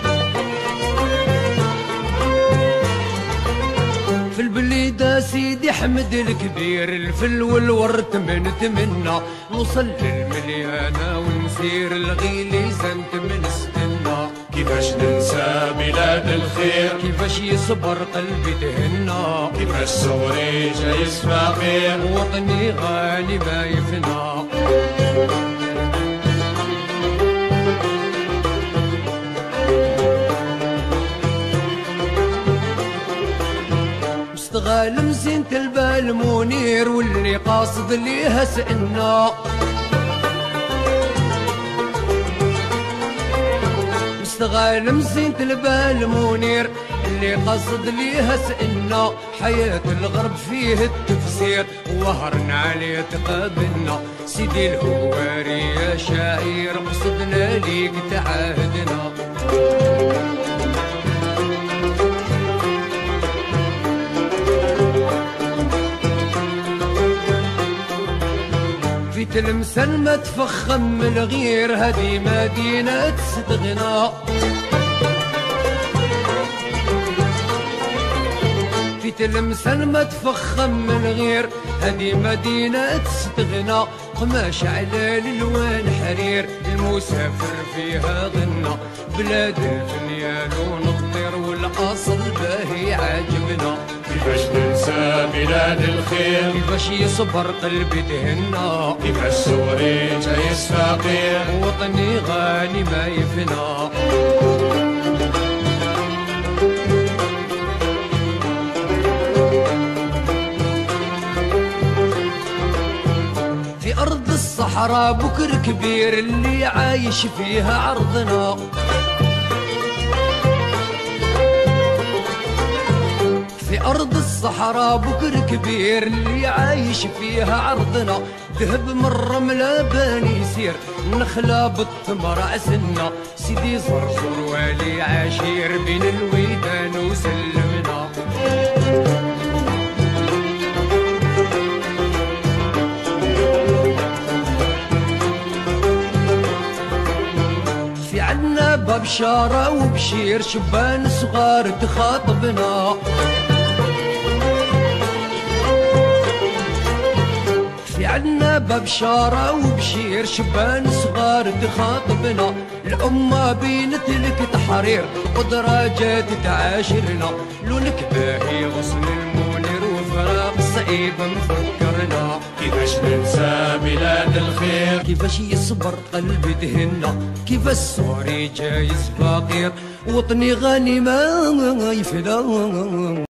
في البليدة سيدي حمد الكبير الفل والورد من تمنى. نوصل للمليانة ونسير الغيلي زنت من استنى. كيفاش ننسى بلاد الخير، كيفاش يصبر قلبي تهنى، كيفاش صوري جايز فقير وطني غالي ما يفنى. مستغال مزينة البال منير واللي قاصد ليها سئنا، مستغال مزينة البال منير اللي قصد ليها سئنا. حياة الغرب فيه التفسير وهرنا عليه تقابلنا. سيدي الهواري يا شاعر قصدنا ليك تعاهدنا. تلمسان ما تفخم من الغير، هذه مدينة تستغنى. في تلمسان ما تفخم من الغير، هذه مدينة تستغنى. قماش على الالوان حرير، المسافر فيها غنى. بلاد الفنيان ونطير والاصل باهي عاجبنا. كيفاش ننسى بلاد الخير، كيفاش يصبر قلبي تهنى. كيفاش سوري جايز فقير، وطني غالي ما يفنى. في أرض الصحراء بكر كبير، اللي عايش فيها عرضنا. في أرض الصحراء بكر كبير، اللي عايش فيها عرضنا. ذهب من الرملة باني يسير، نخلة بالتمر عسلنا. سيدي زرزور والي عشير، بين الويدان وسلمنا. في عنا ببشارة وبشير، شبان صغار تخاطبنا. في عنا ببشارة وبشير، شبان صغار تخاطبنا. الأمة بينت لك تحرير، ودراجات تعاشرنا. لونك باهي غصن المنير، وفراق صعيب مفكرنا. كيفاش ننسى بلاد الخير، كيفاش يصبر قلبي دهنا. كيفاش سوري جايز فقير، وطني غني ما يفدى.